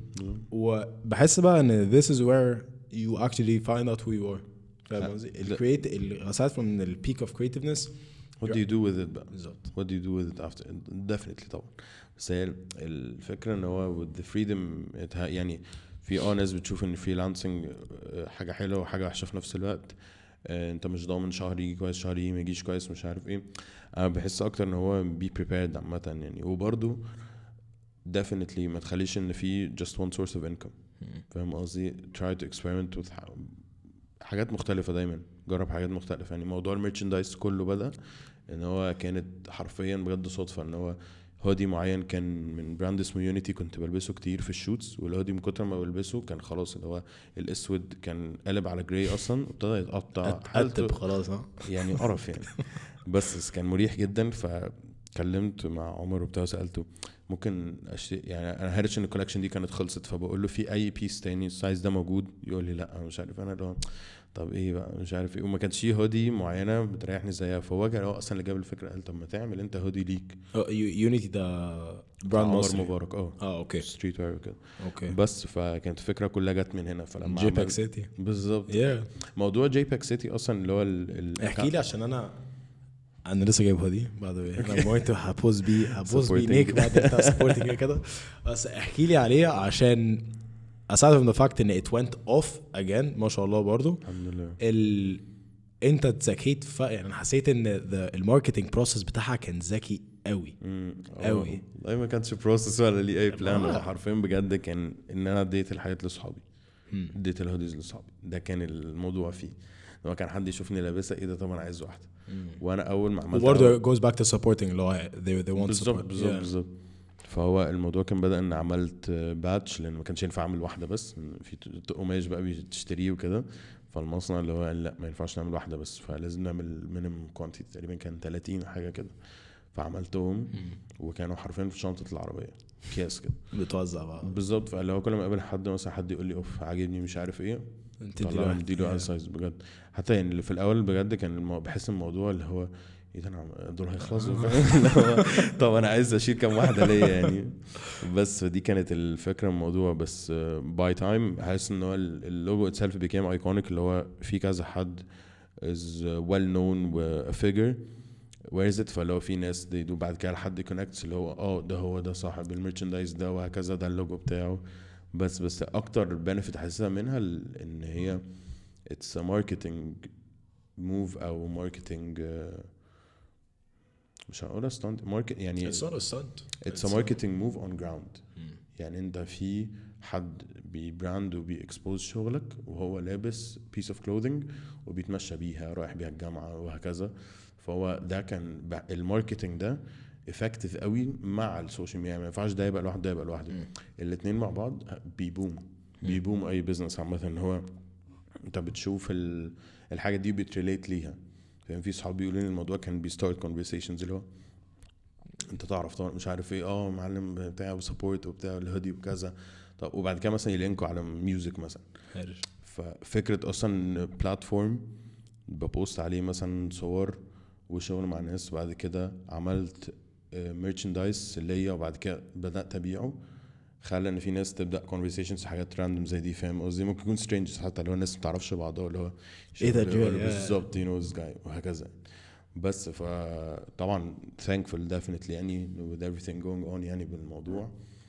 وبحس بقى ان this is where you actually find out who you are. فاهم قصدي؟ ال create ال aside from the peak of creativeness what do you do with it بقى؟ بالظبط. what do you do with it after definitely طبعا. بس هي الفكرة ان هو with the freedom it ha- يعني في اه ناس بتشوف ان freelancing حاجة حلوة وحاجة وحشة في نفس الوقت. انت مش ضامن شهر يجي كويس شهر يجي ما يجيش كويس مش عارف ايه. انا بحس اكتر ان هو be prepared عامة يعني. وبرضو definitely ما تخليش ان في just one source of income. فاهم قصدي؟ try to experiment with حاجات مختلفة دايما. جرب حاجات مختلفة يعني. موضوع الميرشندايز كله بدأ ان هو كانت حرفيا بجد صدفة ان هو هودي معين كان من براند اسمه يونيتي كنت بلبسه كتير في الشوتس. والهودي من كتر ما بلبسه كان خلاص اللي هو الاسود كان قلب على جراي اصلا وابتدى يتقطع حالته خلاص ها يعني قرف يعني. بس كان مريح جدا. فكلمت مع عمر وبتاع سألته ممكن اشتري يعني. انا هرش ان الكولكشن دي كانت خلصت فبقول له في اي بيس تاني السايز ده موجود؟ يقول لي لا مش عارف. انا اللي هو طب ايه بقى مش عارف ايه. وما كانش فيه هودي معينه بتريحني زيها. فهو كان هو اصلا اللي جاب الفكره. قال طب ما تعمل انت هودي ليك. يونيتي ده براند عمر مصري مبارك اه اه اوكي ستريت وير كده. اوكي بس فكانت الفكره كلها جت من هنا. فلما جي باك عمل سيتي بالظبط yeah. موضوع جي باك سيتي اصلا اللي هو ال... ال... احكي لي عشان انا انا لسه جايب هودي بعد انا going to هبوز بي هبوز بي نيك بعد انت سبورتنج كده. بس احكي لي عليه عشان aside from the fact ان it went off again ما شاء الله برضو الحمد لله. ال انت اتذكيت ف يعني انا حسيت ان الماركتنج بروسس بتاعها كان ذكي قوي قوي. والله ما كانش بروسس ولا لي اي بلان. آه. حرفيا بجد كان ان انا اديت الحاجات لاصحابي. اديت الهوديز لاصحابي. ده كان الموضوع فيه. لما كان حد يشوفني لابسها ايه ده طبعا عايز واحده. وانا اول ما عملت وبرضه goes back to supporting اللي هو they, they want بالظبط support بالظبط yeah. بالظبط. فهو الموضوع كان بدأ ان عملت باتش لان ما كانش ينفع اعمل واحده بس. في قماش بقى بتشتريه وكده. فالمصنع اللي هو قال لا ما ينفعش نعمل واحده بس فلازم نعمل مينيمم كوانتيتي تقريبا كان ثلاثين حاجه كده. فعملتهم وكانوا حرفيا في شنطه العربيه اكياس كده بتوزع بقى بالظبط. فاللي هو كل ما اقابل حد مثلا حد يقول لي اوف عاجبني مش عارف ايه طلع اديله على سايز بجد. حتى يعني اللي في الاول بجد كان المو... بحس الموضوع اللي هو ايه ده انا دول هيخلصوا طب انا عايز اشيل كام واحده ليه يعني. بس دي كانت الفكره الموضوع. بس باي تايم حاسس ان هو اللوجو اتسلف بيكام ايكونيك اللي هو في كذا حد is well known و a figure where is it. فلو في ناس دي دو بعد كده لحد كونكتس اللي هو اه ده هو ده صاحب الميرشندايز ده وهكذا ده اللوجو بتاعه. بس بس اكتر بنفيت حاسسها منها ان هي it's a marketing move او marketing uh, مش هقول stunt market يعني it's not a stunt it's a marketing move on ground. يعني انت في حد بيبراند وبيكسبوز شغلك وهو لابس piece of clothing وبيتمشى بيها رايح بيها الجامعة وهكذا. فهو ده كان الماركتينج ده effective قوي مع السوشيال ميديا. ما ينفعش ده يبقى لوحده ده يبقى لوحده. الاثنين مع بعض بيبوم بيبوم اي بزنس عامه. ان هو انت بتشوف الحاجه دي بتريليت ليها. فاهم؟ في صحابي بيقولوا لي الموضوع كان بيستارت كونفرسيشنز اللي هو انت تعرف طبعا مش عارف ايه اه معلم بتاع وسبورت وبتاع الهودي وكذا. طب وبعد كده مثلا يلينكوا على ميوزك مثلا. ففكره اصلا بلاتفورم ببوست عليه مثلا صور وشغل مع الناس. بعد كده عملت ميرشندايز ليا وبعد كده بدات ابيعه. خلى ان في ناس تبدا كونفرسيشنز حاجات راندوم زي دي. فاهم قصدي؟ ممكن يكون سترينجرز حتى لو الناس ما تعرفش بعضها اللي هو ايه ده بالظبط يو نو ذس جاي وهكذا. بس فطبعا thankful definitely يعني with everything going on يعني بالموضوع.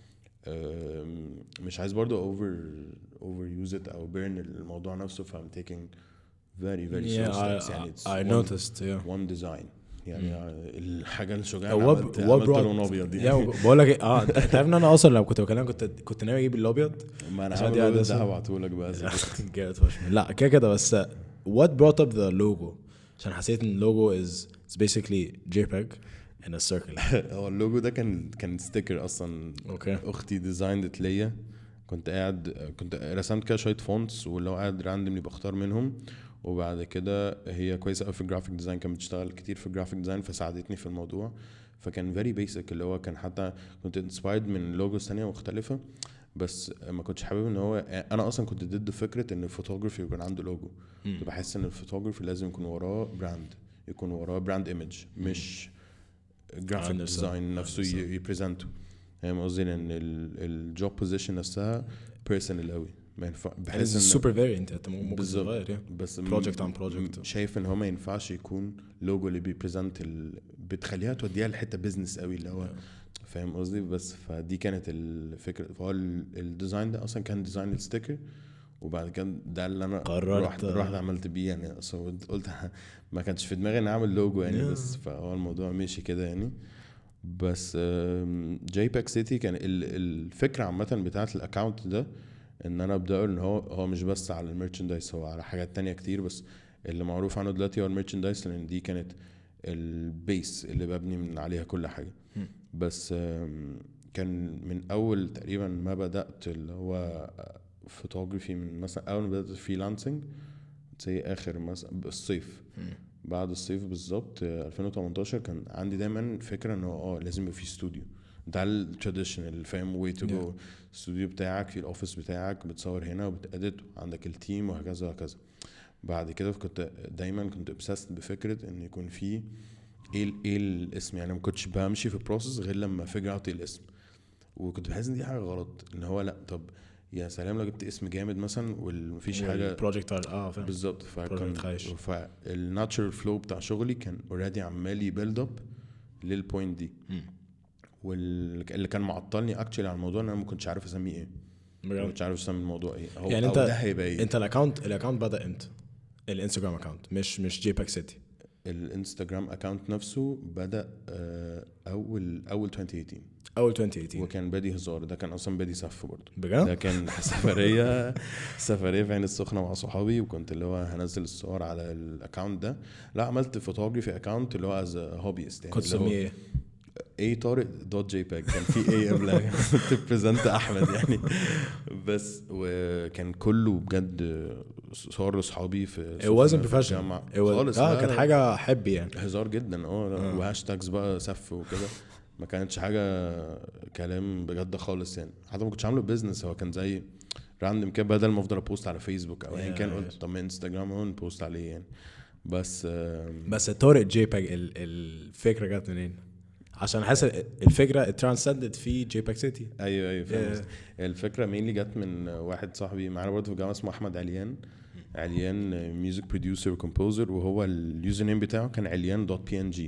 مش عايز برضو over over use it او burn الموضوع نفسه. ف I'm taking very very yeah, slow steps. I, يعني it's I one, noticed yeah. one design يعني mm. الحاجه الشجاعه عملت عملت لون ابيض دي. بقول لك اه انت عارف ان انا اصلا لو كنت بكلمك كنت كنت ناوي اجيب الابيض. ما انا هعمل ده هبعته لك بقى لا كده كده. بس what brought up the logo عشان حسيت ان اللوجو is it's basically JPEG in a circle. هو اللوجو ده كان كان ستيكر اصلا. اوكي. اختي ديزايند ليا، كنت قاعد كنت رسمت كده شويه فونتس واللي هو قاعد راندملي بختار منهم، وبعد كده هي كويسه قوي في الجرافيك ديزاين، كانت بتشتغل كتير في الجرافيك ديزاين فساعدتني في الموضوع. فكان فيري بيسك اللي هو كان حتى كنت انسبايرد من لوجوز ثانيه مختلفه، بس ما كنتش حابب ان هو انا اصلا كنت ضد فكره ان الفوتوغرافي يكون عنده لوجو. كنت بحس ان الفوتوغرافي لازم يكون وراه براند، يكون وراه براند ايمج، مش جرافيك ديزاين نفسه يبريزنته. فاهم قصدي؟ لان الجوب بوزيشن نفسها بيرسونال قوي، ما ينفع بحس ان سوبر فاريانت انت ممكن تغير يعني بس بروجكت عن بروجكت. شايف ان هو ما ينفعش يكون لوجو اللي بيبريزنت ال... بتخليها توديها لحته بيزنس قوي اللي هو فاهم قصدي. بس فدي كانت الفكره. فهو الديزاين ده اصلا كان ديزاين الستيكر، وبعد كده ده اللي انا رحت رحت عملت بيه يعني. اصلا قلت ما كانش في دماغي ان اعمل لوجو يعني yeah. بس فهو الموضوع ماشي كده يعني. بس جي باك سيتي كان الفكره عامه بتاعه الاكونت ده ان انا ابدا ان هو هو مش بس على الميرشندايز، هو على حاجات تانية كتير، بس اللي معروف عنه دلوقتي هو الميرشندايز، لان دي كانت البيس اللي ببني من عليها كل حاجه. بس كان من اول تقريبا ما بدات اللي هو فوتوغرافي، من مثلا اول ما بدات فريلانسنج زي اخر مثلا الصيف، بعد الصيف بالظبط ألفين وتمنتاشر كان عندي دايما فكره انه اه لازم يبقى في استوديو. ده التراديشنال فاهم واي تو جو. الاستوديو بتاعك في الاوفيس بتاعك، بتصور هنا وبتأديت، عندك التيم وهكذا وهكذا. بعد كده كنت دايما كنت obsessed بفكره ان يكون في ايه ايه الاسم يعني. ما كنتش بمشي في البروسيس غير لما فيجر اوت الاسم، وكنت بحس ان دي حاجه غلط. ان هو لا طب يا سلام لو جبت اسم جامد مثلا ومفيش حاجه بروجكت اه فاهم بالظبط. فكان فالناتشرال فلو بتاع شغلي كان اوريدي عمال يبيلد اب للبوينت دي. واللي كان معطلني اكشلي على الموضوع ان انا ما كنتش عارف اسميه ايه، ما كنتش عارف اسمي الموضوع ايه. هو يعني انت ده هيبقى ايه. انت الاكونت الاكونت بدا امتى؟ الانستغرام اكونت مش مش جي باك سيتي. الانستغرام اكونت نفسه بدا اول اول ألفين وتمنتاشر اول ألفين وتمنتاشر وكان بادي هزار. ده كان اصلا بادي صف برضه بجد. ده كان سفريه سفريه في عين السخنه مع صحابي، وكنت اللي هو هنزل الصور على الاكونت ده. لا عملت فوتوغرافي اكونت اللي هو از هوبيست يعني. كنت سميه ايه؟ اي طارق دوت جي باك. كان في اي قبلها تبريزنت احمد يعني. بس وكان كله بجد صور لاصحابي في it wasn't professional خالص. اه كانت حاجه حبي يعني هزار جدا اه وهاشتاجز بقى سف وكده. ما كانتش حاجه كلام بجد خالص يعني. حتى ما كنتش عامله بيزنس، هو كان زي راندم كده، بدل ما افضل ابوست على فيسبوك او ايا كان قلت طب ما انستغرام اهو نبوست عليه يعني. بس بس طارق جي باك الفكره جت منين؟ عشان حاسس الفكره ترانسندد في جي باك سيتي. ايوه ايوه فاهم. yeah. الفكره مين اللي جت من واحد صاحبي معانا برضه في الجامعه اسمه احمد عليان. عليان ميوزك بروديوسر وكومبوزر، وهو اليوزر نيم بتاعه كان عليان دوت بي ان جي.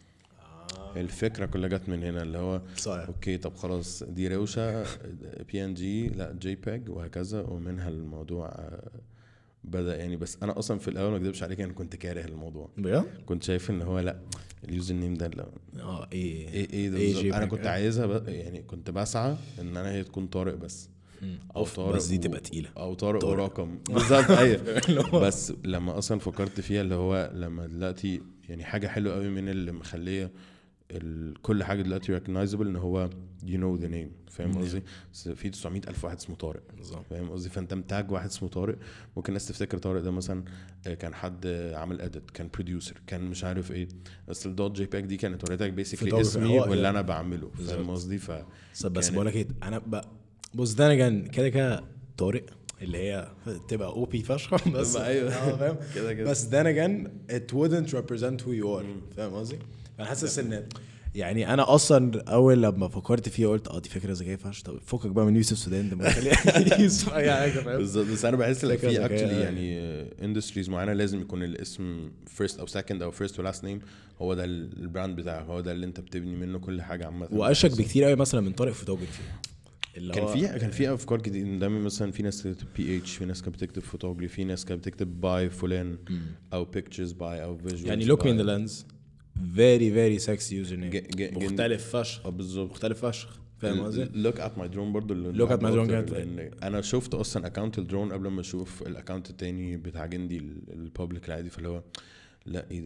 الفكره كلها جت من هنا اللي هو صحيح. اوكي طب خلاص دي روشه بي ان جي لا جي باك وهكذا، ومنها الموضوع بدا يعني. بس انا اصلا في الاول ما اكذبش عليك انا كنت كاره الموضوع بجد. كنت شايف ان هو لا اليوزر نيم ده لا اه ايه ايه ايه, إيه انا كنت عايزها يعني. كنت بسعى ان انا هي تكون طارق بس او طارق بس دي تبقى تقيله او طارق ورقم بالظبط. ايوه بس لما اصلا فكرت فيها اللي هو لما دلوقتي يعني حاجه حلوه قوي من اللي مخليه كل حاجه دلوقتي recognizable ان هو you know the name. فاهم قصدي؟ في تسعمية ألف واحد اسمه طارق. فاهم قصدي؟ فانت متاج واحد اسمه طارق، ممكن الناس تفتكر طارق ده مثلا كان حد عامل اديت، كان بروديوسر، كان مش عارف ايه. بس الدوت جي باك دي كانت وريتك بيسكلي اسمي واللي انا بعمله. فاهم قصدي؟ ف بس بقول لك ايه انا ب... بص ده انا كان كده كده طارق اللي هي تبقى او بي فشخ بس ايوه فاهم كده كده. بس ده انا كان it wouldn't represent who you are. فاهم قصدي؟ انا حاسس ان يعني انا اصلا اول لما فكرت فيه قلت اه دي فكره ذكيه فشخ. طب فكك بقى من يوسف سودان ده يوسف اي حاجه. فاهم بالظبط. بس انا بحس ان في اكشلي يعني اندستريز معينه لازم يكون الاسم فيرست او سكند او فيرست ولاست نيم هو ده البراند بتاعك، هو ده اللي انت بتبني منه كل حاجه عامه. واشك بكتير قوي مثلا من طارق فوتوغرافي. كان في كان في افكار كتير دايما. مثلا في ناس بتكتب بي اتش، في ناس كانت بتكتب فوتوغرافي، في ناس كانت بتكتب باي فلان او بيكتشرز باي او فيجوالز. يعني لوك مي ان ذا لينز very very sexy username مختلف فشخ. بالظبط مختلف فشخ. فاهم قصدي؟ لوك ات ماي درون برضو لوك ات ماي درون. انا شفت اصلا اكونت الدرون قبل ما اشوف الاكونت التاني بتاع جندي البابليك العادي. فاللي هو لا ايه ده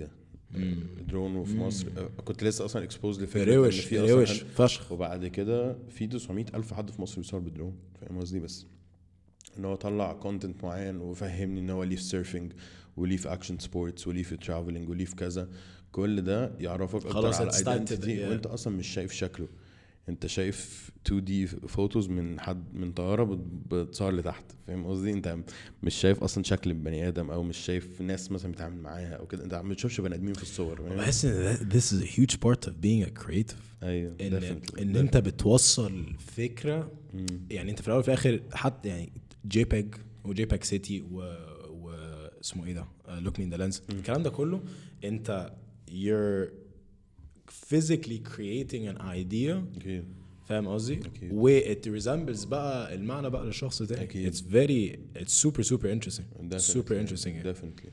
درون وفي مصر كنت لسه اصلا اكسبوز لفكره روش في روش اصلا فشخ. وبعد كده في تسعمية الف حد في مصر بيصور بدرون فاهم قصدي بس ان هو طلع كونتنت معين وفهمني ان هو ليه في سيرفنج وليه في اكشن سبورتس وليه في ترافلنج وليه في كذا كل ده يعرفك اكتر على الايدنتيتي yeah. وانت اصلا مش شايف شكله انت شايف تو دي فوتوز من حد من طياره بتصور لتحت فاهم قصدي انت مش شايف اصلا شكل البني ادم او مش شايف ناس مثلا بتتعامل معاها او كده انت ما بتشوفش بني ادمين في الصور بحس ان this is a huge part of being a creative ايوه ان, definitely. إن definitely. انت بتوصل فكره مم. يعني انت في الاول وفي الاخر حتى يعني جي بيج وجي بيج سيتي و و اسمه ايه ده لوك مي ان ذا لينز الكلام ده كله انت you're physically creating an idea okay. فاهم قصدي و it resembles بقى المعنى بقى للشخص ده it's very it's super super interesting super interesting definitely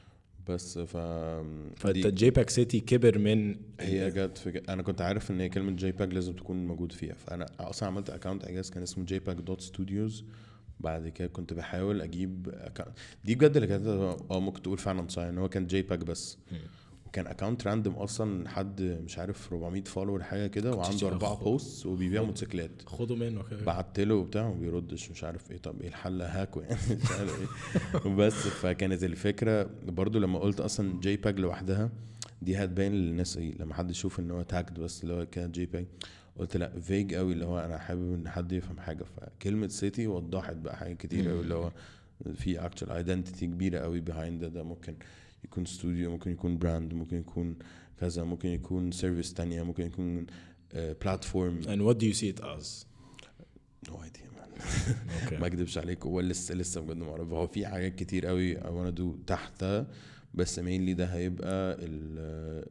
بس ف فانت جي باك سيتي كبر من هي جت في ج... انا كنت عارف ان كلمه جي باك لازم تكون موجود فيها فانا اصلا عملت اكونت اجاز كان اسمه جي باك دوت ستوديوز بعد كده كنت بحاول اجيب أكاونت. دي بجد اللي كانت اه ممكن تقول فعلا صحيح ان هو كان جي باك بس كان اكونت راندوم اصلا حد مش عارف أربعمية فولور حاجه كده وعنده اربعه بوست وبيبيع موتوسيكلات خدوا منه كده بعت له وبتاع وما بيردش مش عارف ايه طب ايه الحل هاكو يعني مش عارف ايه بس فكانت الفكره برضو لما قلت اصلا جي باج لوحدها دي هتبين للناس ايه لما حد يشوف ان هو تاجد بس اللي هو كان جي باج قلت لا فيج قوي اللي هو انا حابب ان حد يفهم حاجه فكلمه سيتي وضحت بقى حاجات كتير قوي اللي هو في اكتشوال ايدنتيتي كبيره قوي بيهايند ده ممكن يكون استوديو ممكن يكون براند ممكن يكون كذا ممكن يكون سيرفيس تانية ممكن يكون بلاتفورم and what do you see it as no idea man okay. ما اكذبش عليك هو لسه لسه بجد ما اعرف هو في حاجات كتير قوي I wanna do تحتها بس mainly ده هيبقى ال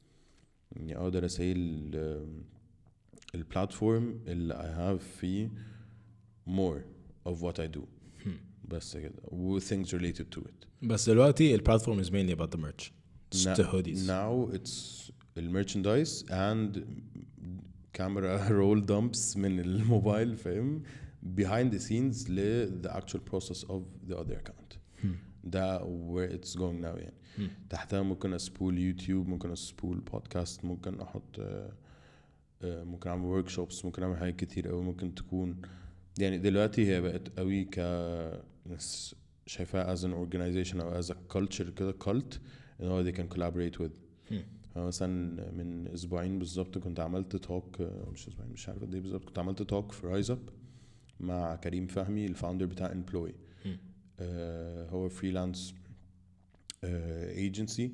يعني اقدر اسيل البلاتفورم اللي I have فيه more of what I do بس كده و things related to it بس دلوقتي البلاتفورم is mainly about the merch it's now, the hoodies now it's الميرشندايز and camera roll dumps من الموبايل فاهم behind the scenes ل the actual process of the other account hmm. ده where it's going now يعني hmm. تحتها ممكن اسبول يوتيوب ممكن اسبول بودكاست ممكن احط ممكن اعمل workshops ممكن اعمل حاجات كتير قوي ممكن تكون يعني دلوقتي هي بقت قوي ك ناس شايفاها as an organization او as a culture كده cult ان هو they can collaborate with مثلا من اسبوعين بالظبط كنت عملت توك مش اسبوعين مش عارف قد ايه بالظبط كنت عملت توك في رايز اب مع كريم فهمي الفاوندر بتاع امبلوي آه هو فريلانس ايجنسي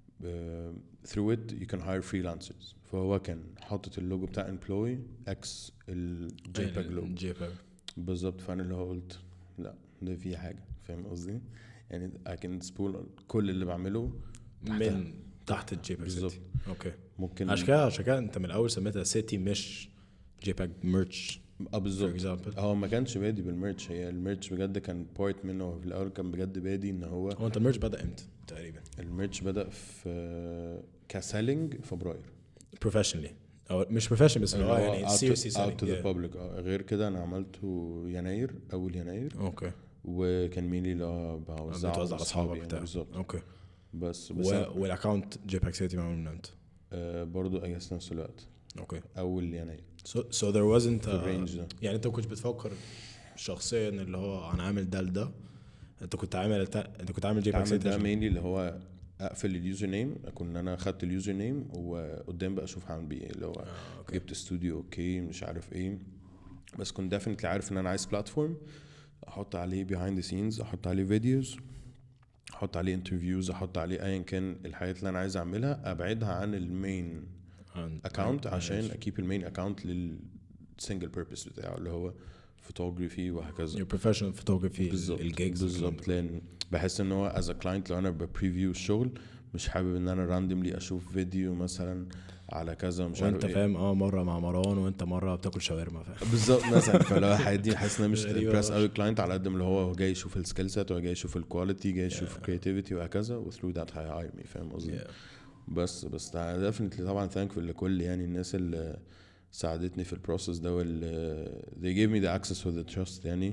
through it you can hire freelancers فهو كان حاطط اللوجو بتاع امبلوي اكس الجيباج لوجو بالظبط فانا اللي هو قلت لا ده في حاجه فاهم قصدي يعني I can spool كل اللي بعمله من تحت الجيباج بالظبط اوكي ممكن عشان كده عشان كده انت من الاول سميتها سيتي مش جيباج ميرش اه بالظبط هو ما كانش بادي بالميرش هي الميرش بجد كان بارت منه في الاول كان بجد بادي ان هو هو انت الميرش بدا امتى تقريبا الميرش بدا في كسيلينج فبراير بروفيشنالي او مش بروفيشنال بس هو يعني سيريسلي سيلينج اوت تو ذا بابليك غير كده انا عملته يناير اول يناير اوكي وكان مينلي اللي بوزعه على اصحابك بتاعك بالظبط اوكي بس بس و... والاكونت جيباج سيتي معمول من امتى آه برضو اجازه نفس الوقت اوكي اول يناير so, so there wasn't a, ده. يعني انت ما كنتش بتفكر شخصيا اللي هو انا عامل ده لده انت كنت عامل انت كنت عامل جيباج سيتي ده مينلي اللي هو اقفل اليوزر نيم اكون انا خدت اليوزر نيم وقدام بقى اشوف هعمل بيه اللي هو آه، جبت استوديو اوكي مش عارف ايه بس كنت ديفينتلي عارف ان انا عايز بلاتفورم احط عليه behind the scenes احط عليه فيديوز احط عليه انترفيوز احط عليه ايا كان الحاجات اللي انا عايز اعملها ابعدها عن المين اكاونت عشان اكيب المين اكاونت للسنجل بيربس بتاعه اللي هو فوتوغرافي وهكذا your professional photography الجيجز بالظبط لان بحس ان هو as a client لو انا ببريفيو الشغل مش حابب ان انا راندملي اشوف فيديو مثلا على كذا مش عارف وانت فاهم اه مره مع مروان وانت مره بتاكل شاورما فاهم بالظبط مثلا فلو حد حاسس ان مش امبرس قوي كلاينت على قد اللي هو جاي يشوف السكيل سيت وجاي يشوف الكواليتي جاي يشوف الكرياتيفيتي وهكذا وثرو ذات هاي هاير مي فاهم قصدي بس بس ديفينتلي طبعا ثانكفul لكل يعني الناس اللي ساعدتني في البروسس ده وال they gave me the access with the trust يعني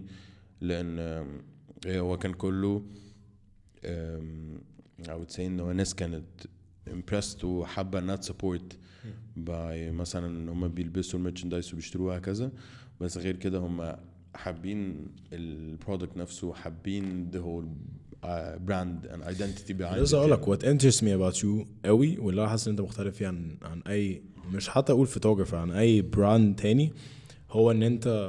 لان هو كان كله I would say انه ناس كانت impressed وحابه انها support باي مثلا ان هم بيلبسوا الميرشندايز وبيشتروها كذا. بس غير كده هم حابين البرودكت نفسه, حابين the whole uh, brand and identity behind it. لسه اقول لك what interests me about you قوي واللي انا حاسس ان انت مختلف فيه عن عن اي, مش حتى اقول فوتوغرافر, عن اي براند تاني, هو ان انت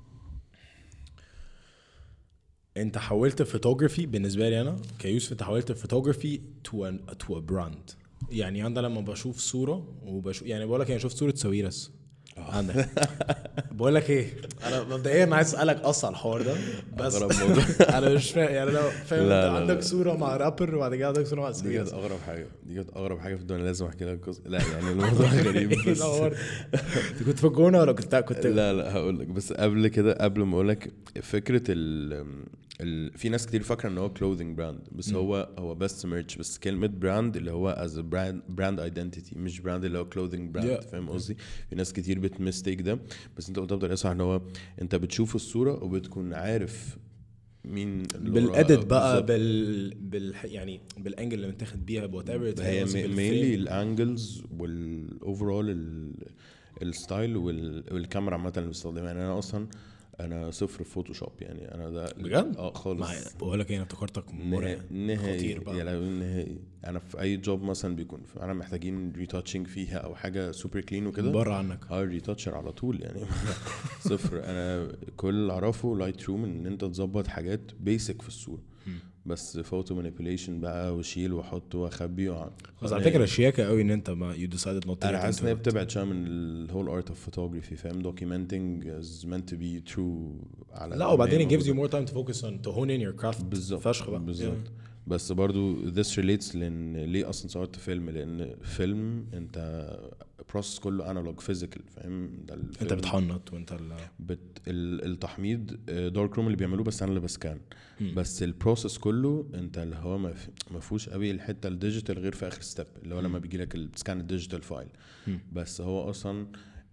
انت حولت فوتوغرافي بالنسبه لي انا كيوسف, انت حولت فوتوغرافي to a to a brand. يعني انا لما بشوف صوره وبشوف, يعني بقول لك انا شفت صوره ساويرس عندك, بقول لك ايه, انا مبدئيا عايز اسالك اصلا الحوار ده بس انا مش فاهم يعني, لو فاهم انت عندك صوره مع رابر وبعد كده عندك صوره مع دي كانت اغرب حاجه, دي كانت اغرب حاجه في الدنيا, لازم احكي لك قصه. لا يعني الموضوع غريب بس انت كنت في الجونه ولا كنت كنت لا لا هقول لك. بس قبل كده, قبل ما اقول لك فكره ال ال في ناس كتير فاكره ان هو clothing brand, بس هو هو بس merch. بس كلمه brand اللي هو as a brand brand identity, مش brand اللي هو clothing brand. yeah. فاهم قصدي؟ في ناس كتير بتمستيك ده, بس انت قلت بطريقه صح ان هو انت بتشوف الصوره وبتكون عارف مين بالاديت بقى, بال بال يعني بالانجل اللي متاخد بيها وات ايفر. هي مينلي الانجلز والاوفرول الستايل والكاميرا عامه اللي بستخدمها. يعني انا اصلا انا صفر في فوتوشوب, يعني انا ده بجد اه خالص. بقول لك ايه, انا افتكرتك نهائي يعني نهائي. انا في اي جوب مثلا بيكون انا محتاجين ريتاتشنج فيها او حاجه سوبر كلين وكده, بره عنك اه ريتاتشر على طول يعني. صفر. انا كل اللي اعرفه لايت روم, ان انت تظبط حاجات بيسك في الصوره, بس فوتو مانيبيوليشن بقى وشيل واحط واخبي. بس على فكره شياكه قوي ان انت ما يو ديسايدد نوت. انا حاسس ان هي بتبعد شويه من الهول ارت اوف فوتوغرافي, فاهم؟ دوكيومنتنج از meant to be true على لا, وبعدين it gives you more time to focus on to hone in your craft. بالظبط فشخ بقى بالظبط. بس برضو this relates لان ليه اصلا صورت فيلم, لان فيلم انت process كله analog physical, فاهم؟ ده انت بتحنط وانت بت التحميض دارك روم اللي بيعملوه, بس انا اللي بسكان. بس البروسيس كله انت اللي هو ما فيهوش قوي الحته الديجيتال غير في اخر ستيب, اللي هو لما بيجي لك السكان الديجيتال فايل. بس هو اصلا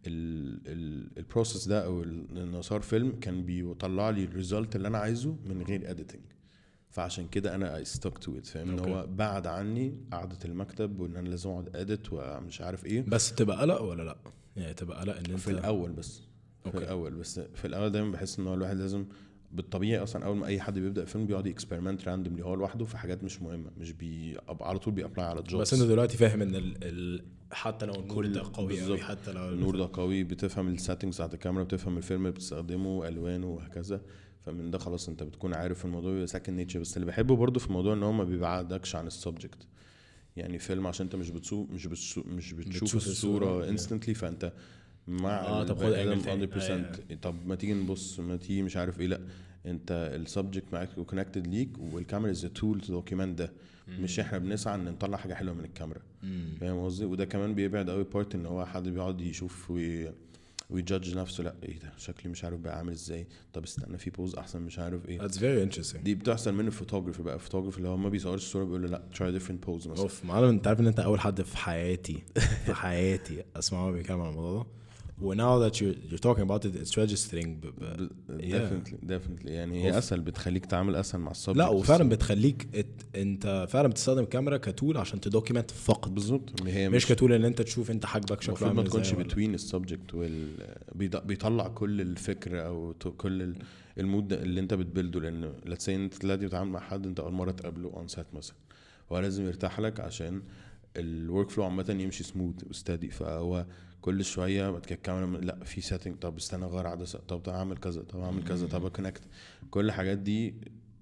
البروسيس ده او انه صار فيلم كان بيطلع لي الريزلت اللي انا عايزه من غير اديتنج, فعشان كده انا I stuck to it, فاهم؟ ان هو بعد عني قعدة المكتب وان انا لازم اقعد اديت ومش عارف ايه. بس تبقى قلق ولا لا؟ يعني تبقى قلق ان انت في الاول بس في أوكي. الاول بس في الاول دايما بحس ان هو الواحد لازم بالطبيعي اصلا اول ما اي حد بيبدا فيلم بيقعد اكسبيرمنت راندوملي هو لوحده في حاجات مش مهمه, مش بي على طول بيابلاي على جوبز. بس انت دلوقتي فاهم ان ال... ال... حتى لو النور ده قوي قوي, حتى لو النور ده قوي, بتفهم السيتنجز بتاعت الكاميرا, بتفهم الفيلم اللي بتستخدمه, الوانه وهكذا. فمن ده خلاص انت بتكون عارف الموضوع سكند نيتشر. بس اللي بحبه برضو في الموضوع ان هو ما بيبعدكش عن السبجكت. يعني فيلم عشان انت مش بتشوف مش بتشوف مش بتشوف الصوره انستنتلي, فانت مع اه طب خد مية بالمية. طب ما تيجي نبص, ما تيجي مش عارف ايه, لا انت السبجكت معاك وكونكتد ليك, والكاميرا از تول تو دوكيومنت ده. مش احنا بنسعى ان نطلع حاجه حلوه من الكاميرا, فاهم قصدي؟ وده كمان بيبعد قوي بارت ان هو حد بيقعد يشوف وي ويجادج نفسه, لا ايه ده شكلي مش عارف بقى عامل ازاي, طب استنى في بوز احسن مش عارف ايه. That's very interesting. دي بتحصل من الفوتوغرافر بقى. الفوتوغرافر اللي هو ما بيصورش الصوره بيقول له لا try different pose مثلا. اوف معلم, انت عارف ان انت اول حد في حياتي في حياتي اسمعه بيتكلم عن الموضوع ده, و now that you're, you're talking about it it's registering. ب... ب... definitely definitely يعني هي اسهل, بتخليك تعمل اسهل مع السبجكت. لا وفعلا بتخليك ات... انت فعلا بتستخدم الكاميرا كتول عشان تدوكيمنت فقط. بالظبط, مش, مش كتول ان انت تشوف انت حاجبك شكله عامل ازاي. ما تكونش بتوين السبجكت وال بيطلع كل الفكره او كل المود اللي انت بتبلده. لان let's say انت دلوقتي بتتعامل مع حد انت اول مره تقابله اون سيت مثلا, هو لازم يرتاح لك عشان الورك فلو عامه يمشي سموث وستادي. فهو كل شويه بعد كده الكاميرا لا في سيتنج, طب استنى غير عدسه, طب اعمل كذا, طب اعمل كذا, طب كونكت. كل الحاجات دي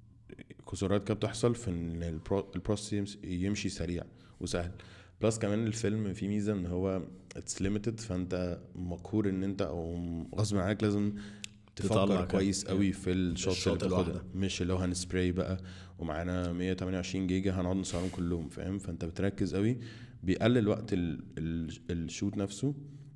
كسورات كده بتحصل في ان البروسيس يمشي سريع وسهل. بلس كمان الفيلم فيه ميزه ان هو اتس ليميتد, فانت مقهور ان انت او غصب عنك لازم تفكر كويس قوي في الشوت اللي بتاخدها, مش اللي هو هنسبراي بقى ومعانا مية وتمنية وعشرين جيجا هنقعد نصورهم كلهم, فاهم؟ فانت بتركز قوي, بيقلل وقت الشوت نفسه,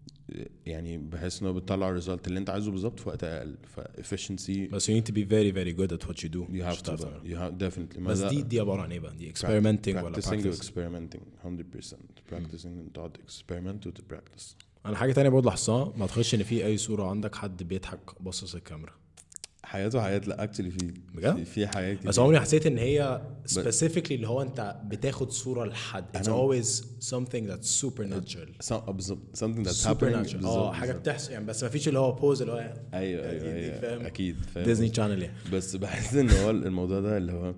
يعني بحيث انه بتطلع الريزلت اللي انت عايزه بالظبط في وقت اقل. فافشنسي. بس you need to be very very good at what you do. you have to you have definitely. بس دي دي عباره عن ايه بقى؟ دي experimenting ولا practicing experimenting one hundred percent practicing and تقعد experiment to practice. انا حاجه تانية برضه لاحظتها, ما تخش ان في اي صوره عندك حد بيضحك باصص الكاميرا. حياته حياة لا اكشلي في بجد؟ في حياة كتير. بس عمري حسيت ان هي specifically اللي هو انت بتاخد صورة لحد it's always something that's supernatural something that's happening اه حاجة بتحصل يعني بس ما فيش اللي هو بوز اللي هو ايوه ايوه اكيد فاهم ديزني شانل يعني. بس بحس ان هو الموضوع ده اللي هو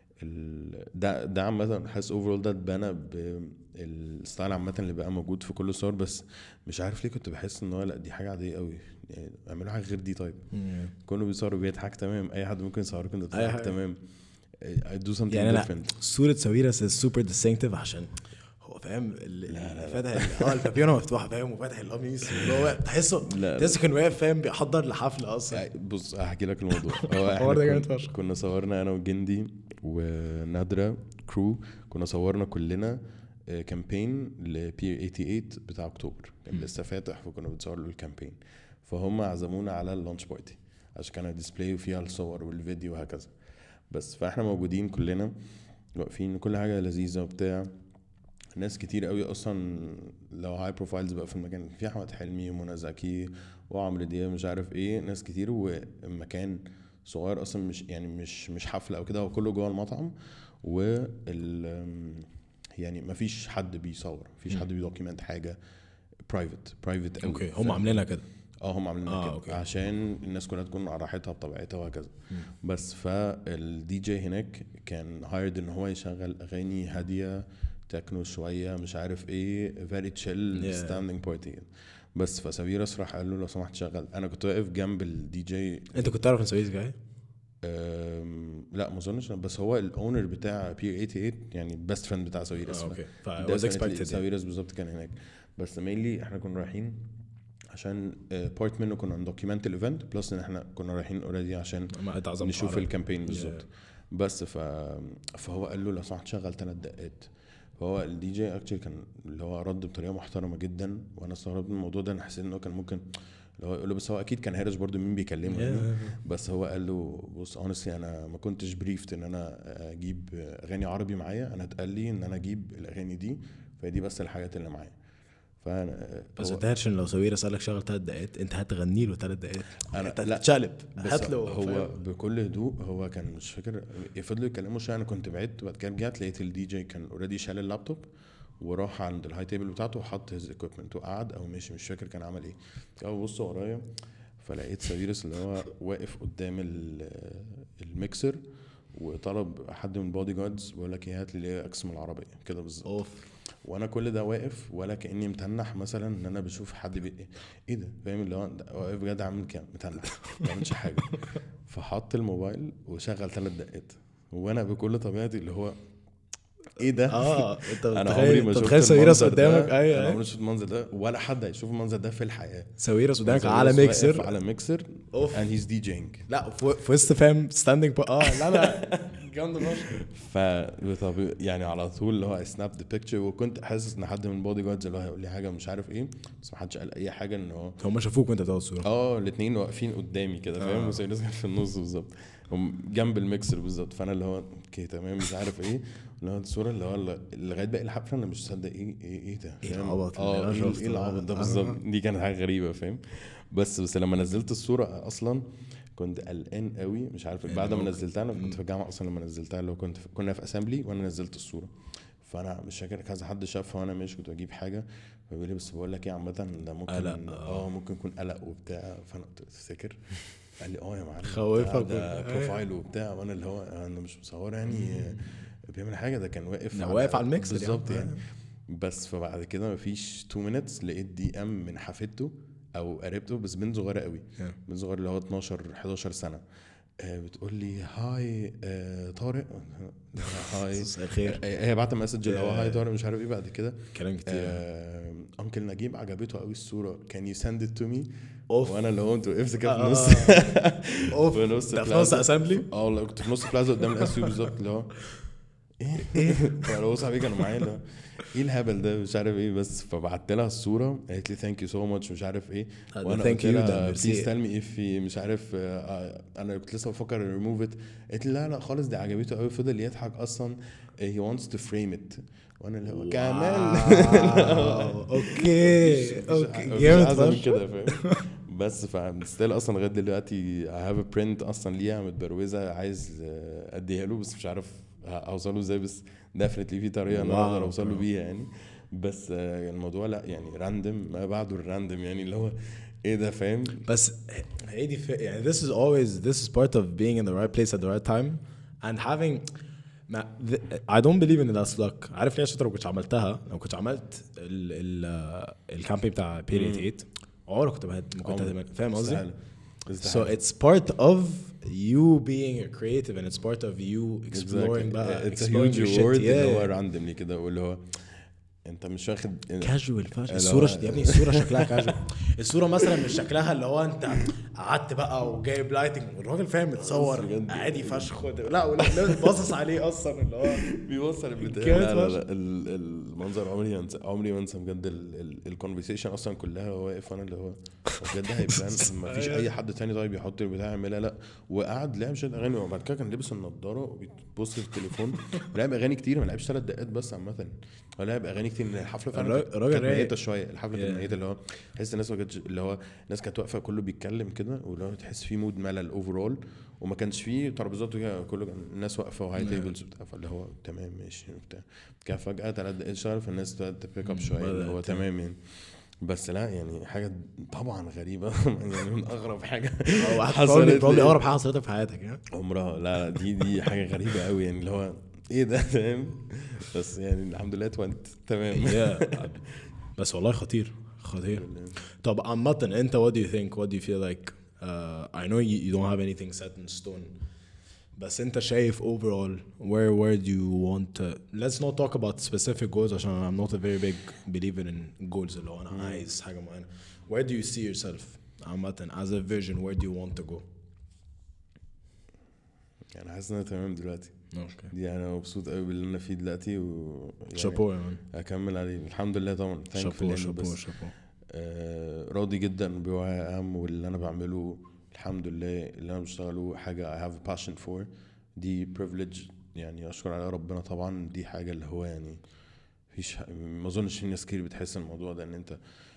ده ده عامة حاسس overall ده اتبنى بالستايل عامة اللي بقى موجود في كل الصور. بس مش عارف ليه كنت بحس ان هو لا دي حاجة عادية قوي يعني اعملوا حاجة غير دي. طيب كله بيصوروا بيضحك تمام اي حد ممكن يصورك انت تضحك تمام I do something يعني different. صورة ساويرس is super distinctive عشان هو فاهم فاتح اه البابيونة مفتوحة فاهم وفاتح القميص هو تحسه تحسه كان واقف فاهم بيحضر لحفلة اصلا. بص هحكي لك الموضوع. هو احنا كنا صورنا انا وجندي ونادرة كرو كنا صورنا كلنا كامبين ل بي ثمانية وثمانين بتاع اكتوبر كان لسه فاتح وكنا بنصور له الكامبين فهم عزمونا على اللانش بارتي عشان كان ديسبلاي فيها الصور والفيديو وهكذا. بس فاحنا موجودين كلنا واقفين كل حاجه لذيذه وبتاع ناس كتير قوي اصلا لو هاي بروفايلز بقى في المكان في احمد حلمي ومنى زكي وعمرو دياب مش عارف ايه ناس كتير والمكان صغير اصلا مش يعني مش مش حفله او كده هو كله جوه المطعم وال يعني ما فيش حد بيصور مفيش حد بيدوكيمنت حاجه برايفت برايفت قوي. اوكي هم عاملينها كده اه هم عاملينها آه كده أوكي. عشان الناس كلها تكون على راحتها بطبيعتها وهكذا. بس فالدي جي هناك كان هايرد ان هو يشغل اغاني هاديه تكنو شويه مش عارف ايه فيري تشيل ستاندينج بارتي. بس فساويرس راح قال له لو سمحت شغل. انا كنت واقف جنب الدي جي. انت كنت تعرف ان ساويرس جاي؟ لا ما اظنش بس هو الاونر بتاع بي ثمانية وثمانين يعني البيست فريند بتاع ساويرس. اوكي فواز اكسبكتد ساويرس بالظبط كان هناك. بس مينلي احنا كنا رايحين عشان بارت منه كنا ندوكيمنت الايفنت بلس ان احنا كنا رايحين اوريدي عشان نشوف الكامبين بالظبط. بس ف... فهو قال له لو سمحت شغل ثلاث دقات. فهو الدي جي اكشلي كان اللي هو رد بطريقه محترمه جدا وانا استغربت من الموضوع ده. انا حسيت انه كان ممكن لو يقول له بس هو اكيد كان هارش برضو مين بيكلمه yeah. بس هو قال له بص honestly انا ما كنتش بريفت ان انا اجيب اغاني عربي معايا. انا اتقال لي ان انا اجيب الاغاني دي فدي بس الحاجات اللي معايا. فانا بس تهرشن لو ساويرس قالك شغل ثلاث دقائق انت هتغني له ثلاث دقائق انا تتشقلب هات له. هو بكل هدوء هو كان مش فاكر يفضلوا يكلموا شويه. انا كنت بعدت بعد كده رجعت لقيت الدي جي كان اوريدي شال اللابتوب وراح عند الهاي تيبل بتاعته وحط هيز ايكويبمنت وقعد او مش مش فاكر كان عمل ايه. او بص ورايا فلقيت ساويرس اللي هو واقف قدام الميكسر وطلب حد من بودي جاردز بيقول لك ايه هات لي اكس من العربيه كده بالظبط. وانا كل ده واقف ولا كاني متنح مثلا ان انا بشوف حد بي... ايه ده فاهم اللي هو واقف بجد عامل كام متنح ما عملش حاجه. فحط الموبايل وشغل ثلاث دقات وانا بكل طبيعتي اللي هو ايه ده اه انت انا عمري ما شفت ساويرس قدامك. ايوه انا عمري ما شفت المنظر ده ولا حد هيشوف المنظر ده في الحياه. ساويرس قدامك على ميكسر على ميكسر and he's DJing لا في وسط فاهم ستاندينج اه لا لا جامد فشخ. ف يعني على طول اللي هو سناب ذا بيكتشر وكنت حاسس ان حد من بودي جاردز اللي هو هيقول لي حاجه مش عارف ايه بس ما حدش قال اي حاجه ان هو هم شافوك وانت بتاخد صوره. اه الاثنين واقفين قدامي كده فاهم وساويرس كان في النص بالظبط جنب الميكسر بالظبط. فانا اللي هو اوكي تمام مش عارف ايه اللي هو الصوره اللي هو لغايه باقي الحفله انا مش مصدق ايه ايه ايه ده ايه العبط اه ايه العبط ده بالظبط. دي كانت حاجه غريبه فاهم. بس بس لما نزلت الصوره اصلا كنت قلقان قوي مش عارف بعد ما نزلتها. انا كنت في الجامعه اصلا لما نزلتها لو كنت كنا في اسامبلي وانا نزلت الصوره فانا مش فاكر كذا حد شافها وانا ماشي كنت بجيب حاجه فبيقول لي بس بقول لك ايه عامه ده ممكن اه ممكن يكون قلق وبتاع. فانا قلت تفتكر قال لي اه يا معلم خوفك ده بروفايل وبتاع وانا اللي هو انا مش مصور يعني بيعمل حاجه ده كان واقف واقف على الميكس بالظبط يعني. بس فبعد كده مفيش تو مينتس لقيت دي ام من حفيدته او قريبته بس بنت صغيره قوي بنت صغيره اللي هو اتناشر حداشر سنه بتقول لي هاي طارق هاي الخير. هي بعت مسج اللي هو هاي طارق مش عارف ايه. بعد كده كلام كتير انكل نجيب عجبته قوي الصوره كان يو سند ات تو مي وانا اللي هو انت وقفت كده في نص في نص في نص اسامبلي اه والله كنت في نص بلازا قدام الاس يو بالظبط اللي هو ايه ايه فلو صاحبي كانوا معايا اللي هو ايه الهبل ده مش عارف ايه. بس فبعت لها الصوره قالت لي ثانك يو سو ماتش مش عارف ايه وانا قلت لها بليز تيل مي اف مش عارف انا كنت لسه بفكر ريموف ات. قالت لي لا لا خالص دي عجبته قوي فضل يضحك اصلا هي وانتس تو فريم ات وانا اللي هو كمان اوكي اوكي جامد كده فاهم. بس فستيل اصلا لغايه دلوقتي I have a print اصلا ليها متبروزه عايز اديها له بس مش عارف اوصله ازاي بس definitely في طريقه انا اقدر اوصله بيها يعني بس الموضوع لا يعني راندم ما بعده الراندم يعني اللي هو ايه ده فاهم بس هي دي يعني this is always this is part of being in the right place at the right time and having ما I don't believe in that luck. عارف ليه؟ عشان لو كنت عملتها لو كنت عملت ال ال الكامبين بتاع بيريد ثمانية عمرك كنت ما كنت فاهم قصدي. So it's part of you being a creative and it's part of you exploring بقى it's a huge reward اللي هو randomly كده واللي هو انت مش واخد كاجوال فاش الصوره يا ابني الصوره شكلها كاجوال الصوره مثلا مش شكلها اللي هو انت قعدت بقى وجايب لايتنج والراجل فاهم متصور عادي فشخ لا ولا باصص عليه اصلا اللي هو بيوصل البتاع لا لا, لا المنظر عمري انسى عمري ما انسى بجد الكونفرسيشن اصلا كلها واقف انا اللي هو بجد هيبان ما فيش اي حد تاني طيب يحط البتاع يعملها لا وقعد لعب شويه اغاني وبعد كده كان لابس النضاره وبيبص في التليفون لعب اغاني كتير ما لعبش ثلاث دقائق بس عامه هو لعب اغاني كتير من الحفله فعلا كانت ميته شويه الحفله كانت ميته اللي هو تحس الناس ما كانتش اللي هو الناس كانت واقفه كله بيتكلم كده واللي تحس فيه مود ملل اوفرول وما كانش فيه ترابيزات كله الناس واقفه وهاي تيبلز وبتاع فاللي هو تمام ماشي وبتاع كان فجاه ثلاث دقايق اشتغل فالناس تبيك اب شويه اللي هو تمام يعني بس لا يعني حاجه طبعا غريبه يعني من اغرب حاجه حصلت لي اغرب حاجه حصلت في حياتك يعني عمرها لا دي دي حاجه غريبه قوي يعني اللي هو ايه ده فاهم بس يعني الحمد لله توانت تمام بس والله خطير خطير طب عامه انت what do you think what do you feel like uh, I know you, you don't have anything set in stone بس انت شايف overall where where do you want to let's not talk about specific goals عشان I'm not a very big believer in goals اللي هو انا عايز حاجه معينه where do you see yourself عامه as a vision where do you want to go يعني حاسس ان انا تمام دلوقتي اوكي دي انا مبسوط قوي باللي انا فيه دلوقتي و شابو يا مان اكمل عليه الحمد لله طبعا شابو شابو شابو آه راضي جدا بوعي اهم واللي انا بعمله الحمد لله اللي انا بشتغله حاجه I have a passion for دي privilege يعني اشكر عليها ربنا طبعا دي حاجه اللي هو يعني مفيش ما اظنش في ناس كتير بتحس الموضوع ده ان انت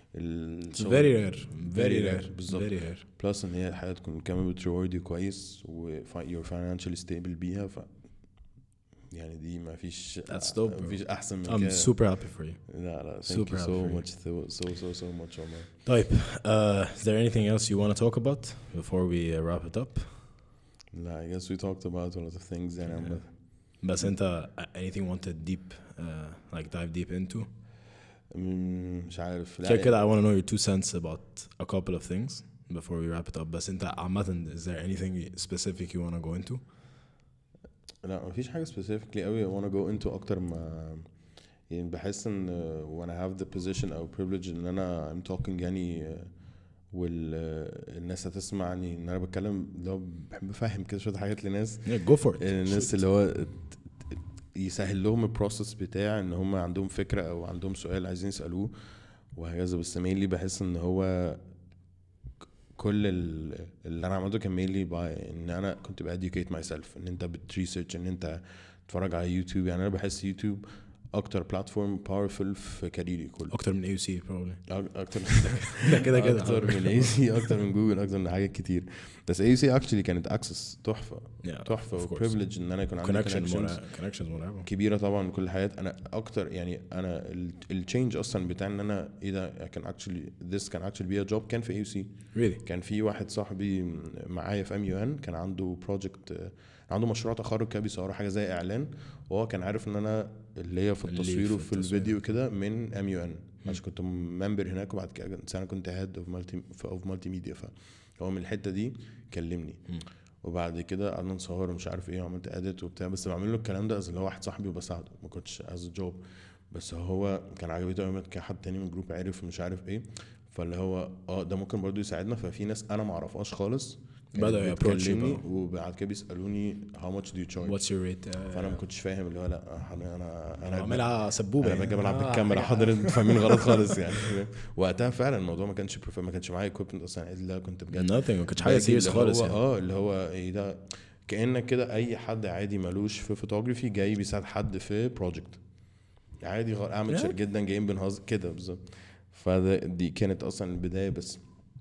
very rare very rare بالظبط very rare plus ان هي الحياه تكون كمان بتريوردي كويس و you're financially stable بيها ف يعني دي ما فيش ما فيش احسن من كده. I'm super happy for you. لا لا thank you so much so so so so much Omar. طيب uh, is there anything else you want to talk about before we uh, wrap it up? لا I guess we talked about a lot of things and yeah. بس انت anything you want to deep uh, like dive deep into? مش عارف لا كده I want to know your two cents about a couple of things before we wrap it up بس انت عامة is there anything specific you want to go into? لا مفيش حاجة specifically قوي I wanna go into أكتر ما يعني بحس إن when I have the position أو privilege إن أنا I'm talking يعني والناس هتسمعني إن أنا بتكلم لو بحب أفهم كده شوية حاجات لناس yeah, go for it الناس اللي هو يسهل لهم البروسس بتاع إن هم عندهم فكرة أو عندهم سؤال عايزين يسألوه وهكذا بس mainly بحس إن هو كل اللي انا عملته كان مينلي باي ان انا كنت باديوكيت ماي سيلف ان انت بتريسيرش ان انت تتفرج على يوتيوب يعني انا بحس يوتيوب اكتر بلاتفورم باورفل في كاريري كله اكتر من اي سي بروبلي اكتر من كده كده اكتر من اي سي اكتر من جوجل اكتر من حاجات كتير بس اي سي اكشلي كانت اكسس تحفه تحفه وبريفليج ان انا يكون عندي كونكشنز كونكشنز كبيره طبعا كل حياتي انا اكتر يعني انا التشينج اصلا بتاع ان انا ايه ده كان اكشلي ذس كان اكشلي بي ا جوب كان في اي سي really? كان في واحد صاحبي معايا في ام يو ان كان عنده بروجكت عنده مشروع تخرج كده بيصور حاجه زي اعلان وهو كان عارف ان انا اللي هي في التصوير وفي الفيديو كده من ام يو ان عشان كنت ممبر هناك وبعد كده انا كنت هيد اوف مالتي اوف مالتي ميديا فهو من الحته دي كلمني م. وبعد كده قعدنا نصور ومش عارف ايه وعملت اديت وبتاع بس بعمل له الكلام ده اللي هو واحد صاحبي وبساعده ما كنتش از جوب بس هو كان عجبته قوي كحد تاني من جروب عارف مش عارف ايه فاللي هو اه ده ممكن برضو يساعدنا ففي ناس انا ما اعرفهاش خالص بدأوا يابروتشوني وبعد كده بيسالوني how much do you charge what's your rate فانا ما كنتش فاهم اللي هو لا انا انا انا بعملها سبوبه انا باجي بلعب بالكاميرا حاضر فاهمين غلط خالص يعني وقتها فعلا الموضوع ما كانش ما كانش معايا equipment اصلا الا كنت بجد nothing ما كانش حاجه سيريس خالص يعني اه اللي هو ايه ده كانك كده اي حد عادي مالوش في فوتوغرافي جاي بيساعد حد في بروجكت عادي اعمل شر جدا جايين بنهزر كده بالظبط فدي كانت اصلا البدايه بس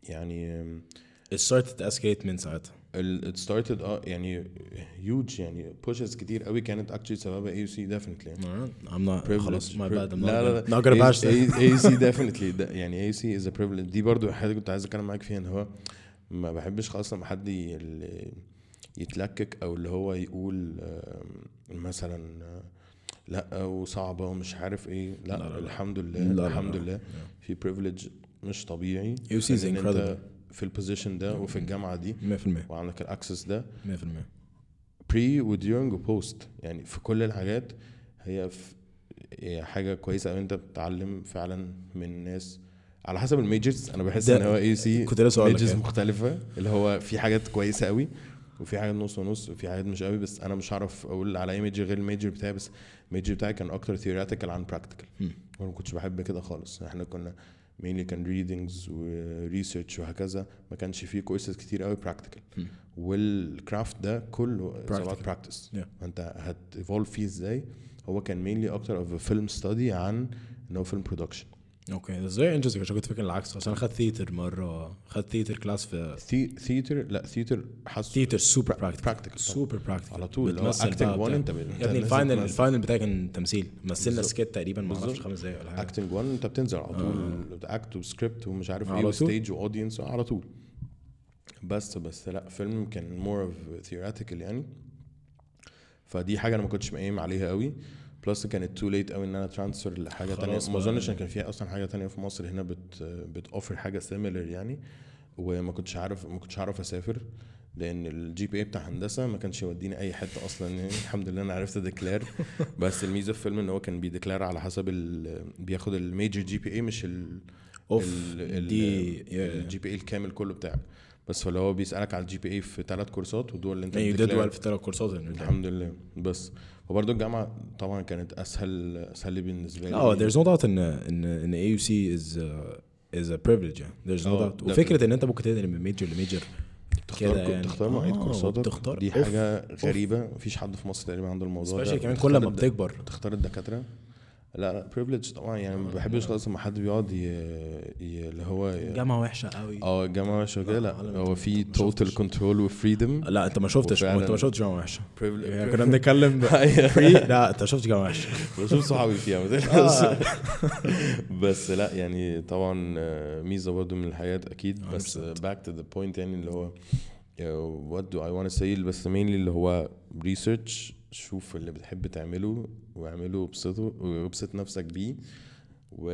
يعني it started to escalate من ساعتها. ال it started اه يعني huge يعني pushes كتير قوي كانت actually سببها A U C definitely يعني. I'm not خلاص my bad I'm لا not لا not gonna bash that. A U C definitely ده يعني A U C is a privilege. دي برضو حاجة كنت عايز اتكلم معاك فيها ان هو ما بحبش خالص لما حد يتلكك او اللي هو يقول مثلا لا وصعبة ومش عارف ايه. لا, لا, لا الحمد لله لا الحمد لا لا. لله في privilege مش طبيعي A U C is incredible في البوزيشن ده وفي الجامعة دي مية في المية وعندك الاكسس ده مية في المية بري وديورنج وبوست يعني في كل الحاجات. هي هي حاجة كويسة أو أنت بتتعلم فعلا من ناس على حسب الميجرز. أنا بحس إن هو إيه سي ميجرز مختلفة اللي هو في حاجات كويسة قوي وفي حاجات نص ونص وفي حاجات مش قوي. بس أنا مش عارف أقول على أي ميجر غير الميجر بتاعي. بس الميجر بتاعي كان أكتر theoretical عن practical وأنا ما كنتش بحب كده خالص. إحنا كنا mainly كان readings و research وهكذا ما كانش فيه كورسز كتير قوي practical. والكرافت ده كله about practice yeah. أنت هت evolve فيه إزاي. هو كان mainly أكتر of a film study عن إنه film production. اوكي ده زي انجز عشان كنت فاكر العكس. عشان اخذت ثيتر مره اخذت ثيتر كلاس في ثيتر. لا ثيتر حاسس ثيتر سوبر براكتيكال سوبر براكتيكال على طول. لو اكتنج واحد انت يا ابني الفاينل الفاينل بتاعي كان تمثيل مثلنا سكيت تقريبا ما اعرفش خمس دقايق ولا حاجه. اكتنج واحد انت بتنزل على طول اكت وسكريبت ومش عارف ايه وستيج واودينس على طول. بس بس لا فيلم كان مور اوف ثيوريتيكال يعني. فدي حاجه انا ما كنتش مقيم عليها قوي. بلس كانت تو ليت قوي ان انا ترانسفير لحاجه تانية. ما اظنش ان كان فيها اصلا حاجه تانية في مصر هنا بت بتوفر حاجه سيميلر يعني. وما كنتش عارف ما كنتش عارف اسافر لان الجي بي اي بتاع هندسه ما كانش يوديني اي حته اصلا يعني. الحمد لله انا عرفت ديكلير. بس الميزه في الفيلم ان هو كان بيديكلير على حسب بياخد الميجر جي بي اي مش ال الجي بي اي الكامل كله بتاعك. بس فلو هو بيسالك على الجي بي اي في ثلاث كورسات ودول اللي انت بتديكلير في ثلاث كورسات الحمد لله. بس وبرضه الجامعه طبعا كانت اسهل اسهل بالنسبه لي. اه there's no doubt ان ان ان A U C is a, is a privilege yeah. there's no doubt. وفكره ان انت ممكن تنقل من ميجر لميجر تختار يعني. تختار معيد آه كورساتك دي حاجه أوف. غريبه. مفيش حد في مصر تقريبا عنده الموضوع ده. كمان كل ما بتكبر تختار الدكاتره. لا لا privilege طبعا يعني. ما بحبش خالص لما حد بيقعد اللي هو جامعه وحشه قوي. اه الجامعه وحشه كده. لا هو في total control وفريدم. لا انت ما شفتش انت ما شفتش جامعه وحشه. يعني كنا بنتكلم فري. لا انت شفت جامعه وحشه. شفت صحابي فيها بس لا يعني طبعا ميزه برضه من الحياه اكيد. بس back to the point يعني اللي هو what do I want to say. بس mainly اللي هو research. شوف اللي بتحب تعمله واعمله وبسطه وبسط نفسك بيه و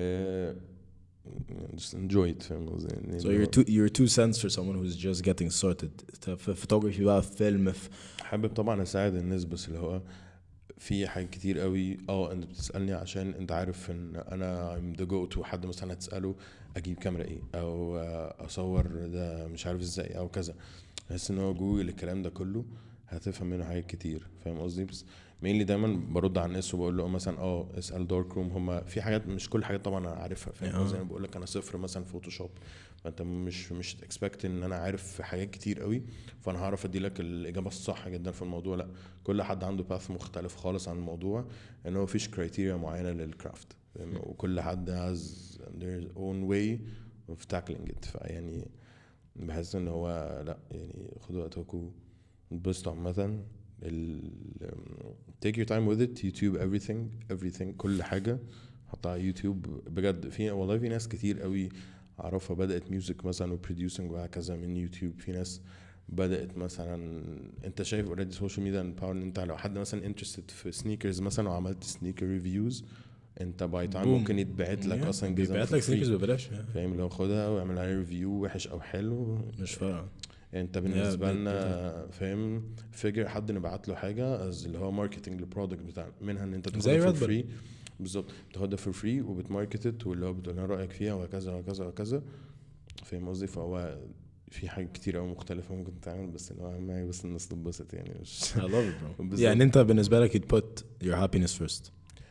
just enjoy it. فاهم قصدي. so you're two you're two cents for someone who's just getting started. في photography بقى في فيلم في حابب طبعا اساعد الناس. بس اللي هو في حاجات كتير قوي اه انت بتسالني عشان انت عارف ان انا I'm the go to. حد مثلا هتساله اجيب كاميرا ايه او اصور ده مش عارف ازاي او كذا. بحس ان هو جوجل الكلام ده كله هتفهم منه حاجات كتير. فاهم قصدي. بس مينلي دايما برد على الناس وبقول له مثلا اه اسال دارك روم. هم في حاجات مش كل حاجات طبعا انا عارفها. فاهم زي ما بقول لك انا صفر مثلا فوتوشوب. فانت مش مش اكسبكت ان انا عارف حاجات كتير قوي فانا هعرف ادي لك الاجابه الصح جدا في الموضوع. لا كل حد عنده باث مختلف خالص عن الموضوع. ان هو فيش كرايتيريا معينه للكرافت. وكل حد has their own way of tackling it. فيعني بحس ان هو لا يعني خدوا وقتكم بس عامة ال take your time with it. YouTube everything everything كل حاجة حطها على يوتيوب بجد. في والله في ناس كتير قوي أعرفها بدأت ميوزك مثلا وبروديوسنج وهكذا من يوتيوب. في ناس بدأت مثلا انت شايف already سوشيال ميديا باور. انت لو حد مثلا interested في سنيكرز مثلا وعملت سنيكر ريفيوز انت باي تايم ممكن يتبعت لك اصلا جزء بيبعت لك سنيكرز ببلاش. فاهم لو خدها واعمل عليها ريفيو وحش او حلو مش فارقه. انت بالنسبه لنا فاهم فيجر حد نبعت له حاجه از اللي هو ماركتنج للبرودكت بتاعنا منها ان انت تاخدها فور فري. بالظبط بتاخدها فور فري وبتماركتت واللي هو بتقول لنا رايك فيها وكذا وكذا وكذا. فاهم قصدي. فهو في حاجات كتير قوي مختلفه ممكن تعمل. بس اللي هو اهم حاجه بس الناس تتبسط يعني. مش I love it bro. يعني انت بالنسبه لك you'd put your happiness first.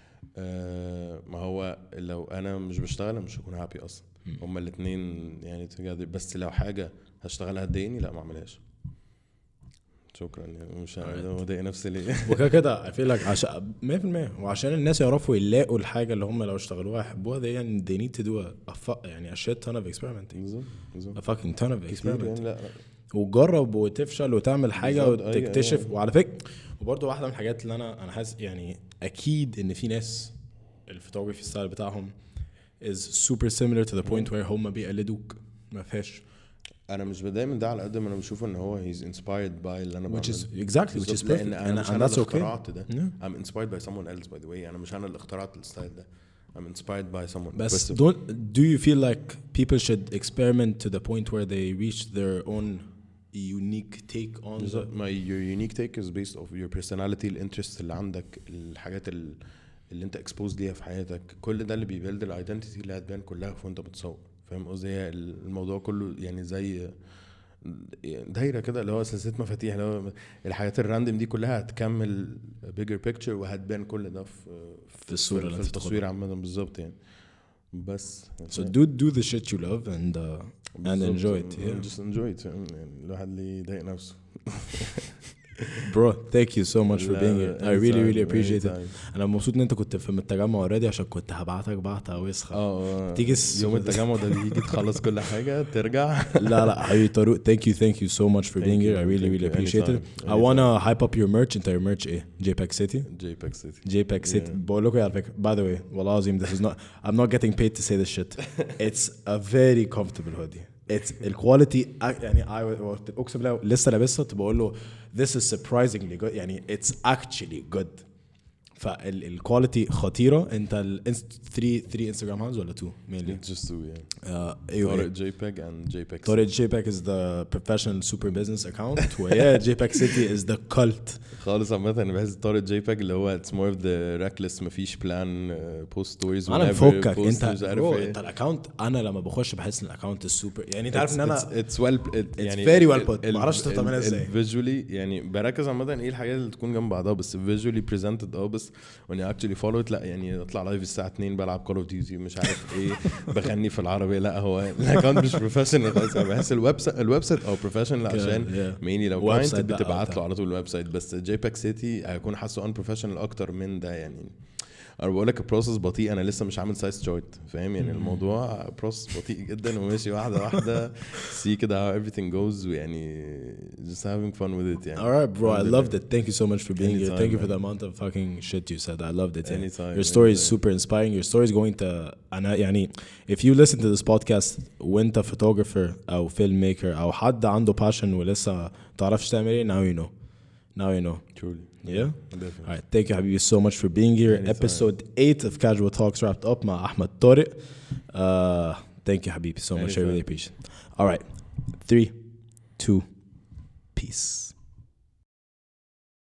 آه ما هو لو انا مش بشتغل مش هكون هابي اصلا. هما الاثنين يعني together. بس لو حاجه هشتغلها تضايقني لا ما اعملهاش. شكرا يعني مش هضايق نفسي ليه. وكده كده I feel like عشان مية في المية وعشان الناس يعرفوا يلاقوا الحاجة اللي هم لو اشتغلوها يحبوها دي يعني they need to do a, a fu- يعني a shit ton of experimenting بالظبط بالظبط a fucking ton of كتير experiment يعني. لا وتجرب وتفشل وتعمل حاجة بالظبط، أيوة، وتكتشف أيوة. وعلى فكرة وبرضه واحدة من الحاجات اللي أنا أنا حاسس يعني أكيد إن في ناس الفوتوغرافي ستايل بتاعهم is super similar to the point where هم بيقلدوك ما فيهاش. انا مش بتضايق من ده على قد ما انا بشوف ان هو he's inspired by اللي انا بعمله which is exactly which is perfect لان انا مش انا اللي اخترعت ده. Yeah. I'm inspired by someone else by the way. انا مش انا اللي اخترعت الستايل ده. I'm inspired by someone. بس don't do you feel like people should experiment to the point where they reach their own unique take on the my your unique take is based off your personality, الانترست اللي عندك, الحاجات اللي انت exposed ليها في حياتك, كل ده اللي بيبيلد الايدنتيتي اللي هتبان كلها وانت بتصور. فاهم قصدي؟ الموضوع كله يعني زي دايره كده اللي هو سلسله مفاتيح, اللي هو الحاجات الراندم دي كلها هتكمل bigger picture وهتبان كل ده في في الصوره في التصوير عامه. بالظبط يعني. بس so do do the shit you love and uh, and enjoy it. Yeah, just enjoy it. يعني الواحد اللي يضايق نفسه. Bro, thank you so much for being here. I really really appreciate it. انا مبسوط ان انت كنت في التجمع اوريدي عشان كنت هبعتك بعتها وسخه. اه تيجي يوم التجمع ده بيجي تخلص كل حاجه ترجع. لا لا حبيبي طارق, thank you thank you so much for being here. I really really appreciate it. I wanna hype up your merch. انت your merch ايه؟ JPEG City. JPEG City. JPEG City. بقول لكم على فكره by the way والله العظيم this is not I'm not getting paid to say this shit. It's a very comfortable hoodie. It's الكواليتي يعني I اقسم بالله لسه لابسها بقول له this is surprisingly good يعني it's actually good. فالكواليتي خطيره. انت ال three three Instagram handles ولا two mainly? Just two yeah. uh, ايوه طارق JPEG and JPEG. طارق JPEG is the professional super business account ويا JPEG City is the cult. خالص عامه انا بحس طارق JPEG اللي هو it's more of the reckless مفيش plan uh, post stories. انا مفكك انت برو انت الاكونت انا لما بخش بحس ان الاكونت السوبر يعني انت عارف ان انا it's well it, يعني very well put. ما اعرفش تعملها ازاي visually يعني بركز عامه ايه الحاجات اللي تكون جنب بعضها بس visually presented. اه بس when you actually follow it لا يعني اطلع لايف الساعه اتنين بلعب Call of Duty مش عارف ايه بغني في العربيه. لا هو الاكونت مش بروفيشنال خالص. انا بحس الويب سايت الويب سايت او بروفيشنال عشان ميني لو كلاينت بتبعت له على طول الويب سايت. بس JPEG City هيكون حاسه ان بروفيشنال اكتر من ده. يعني انا بقول لك البروسس بطيء. انا لسه مش عامل سايز تشارت فاهم يعني الموضوع بروسس بطيء جدا وماشي واحده واحده سي كده how everything goes ويعني just having fun with it يعني. All right bro, I loved it. Thank you so much for being Anytime, here. Thank you man. for the amount of fucking shit you said. I loved it. Yeah. Anytime, Your story anytime. is super inspiring. Your story is going to أنا يعني if you listen to this podcast وانت photographer أو filmmaker أو حد عنده passion ولسه تعرفش تعمل ايه now you know. Now you know. Truly. Yeah? Definitely. All right. Thank you حبيبي so much for being here. Anytime. Episode eight of Casual Talks wrapped up مع أحمد طارق. Uh, thank you حبيبي so much. I really appreciate it. All right. Three, two, peace.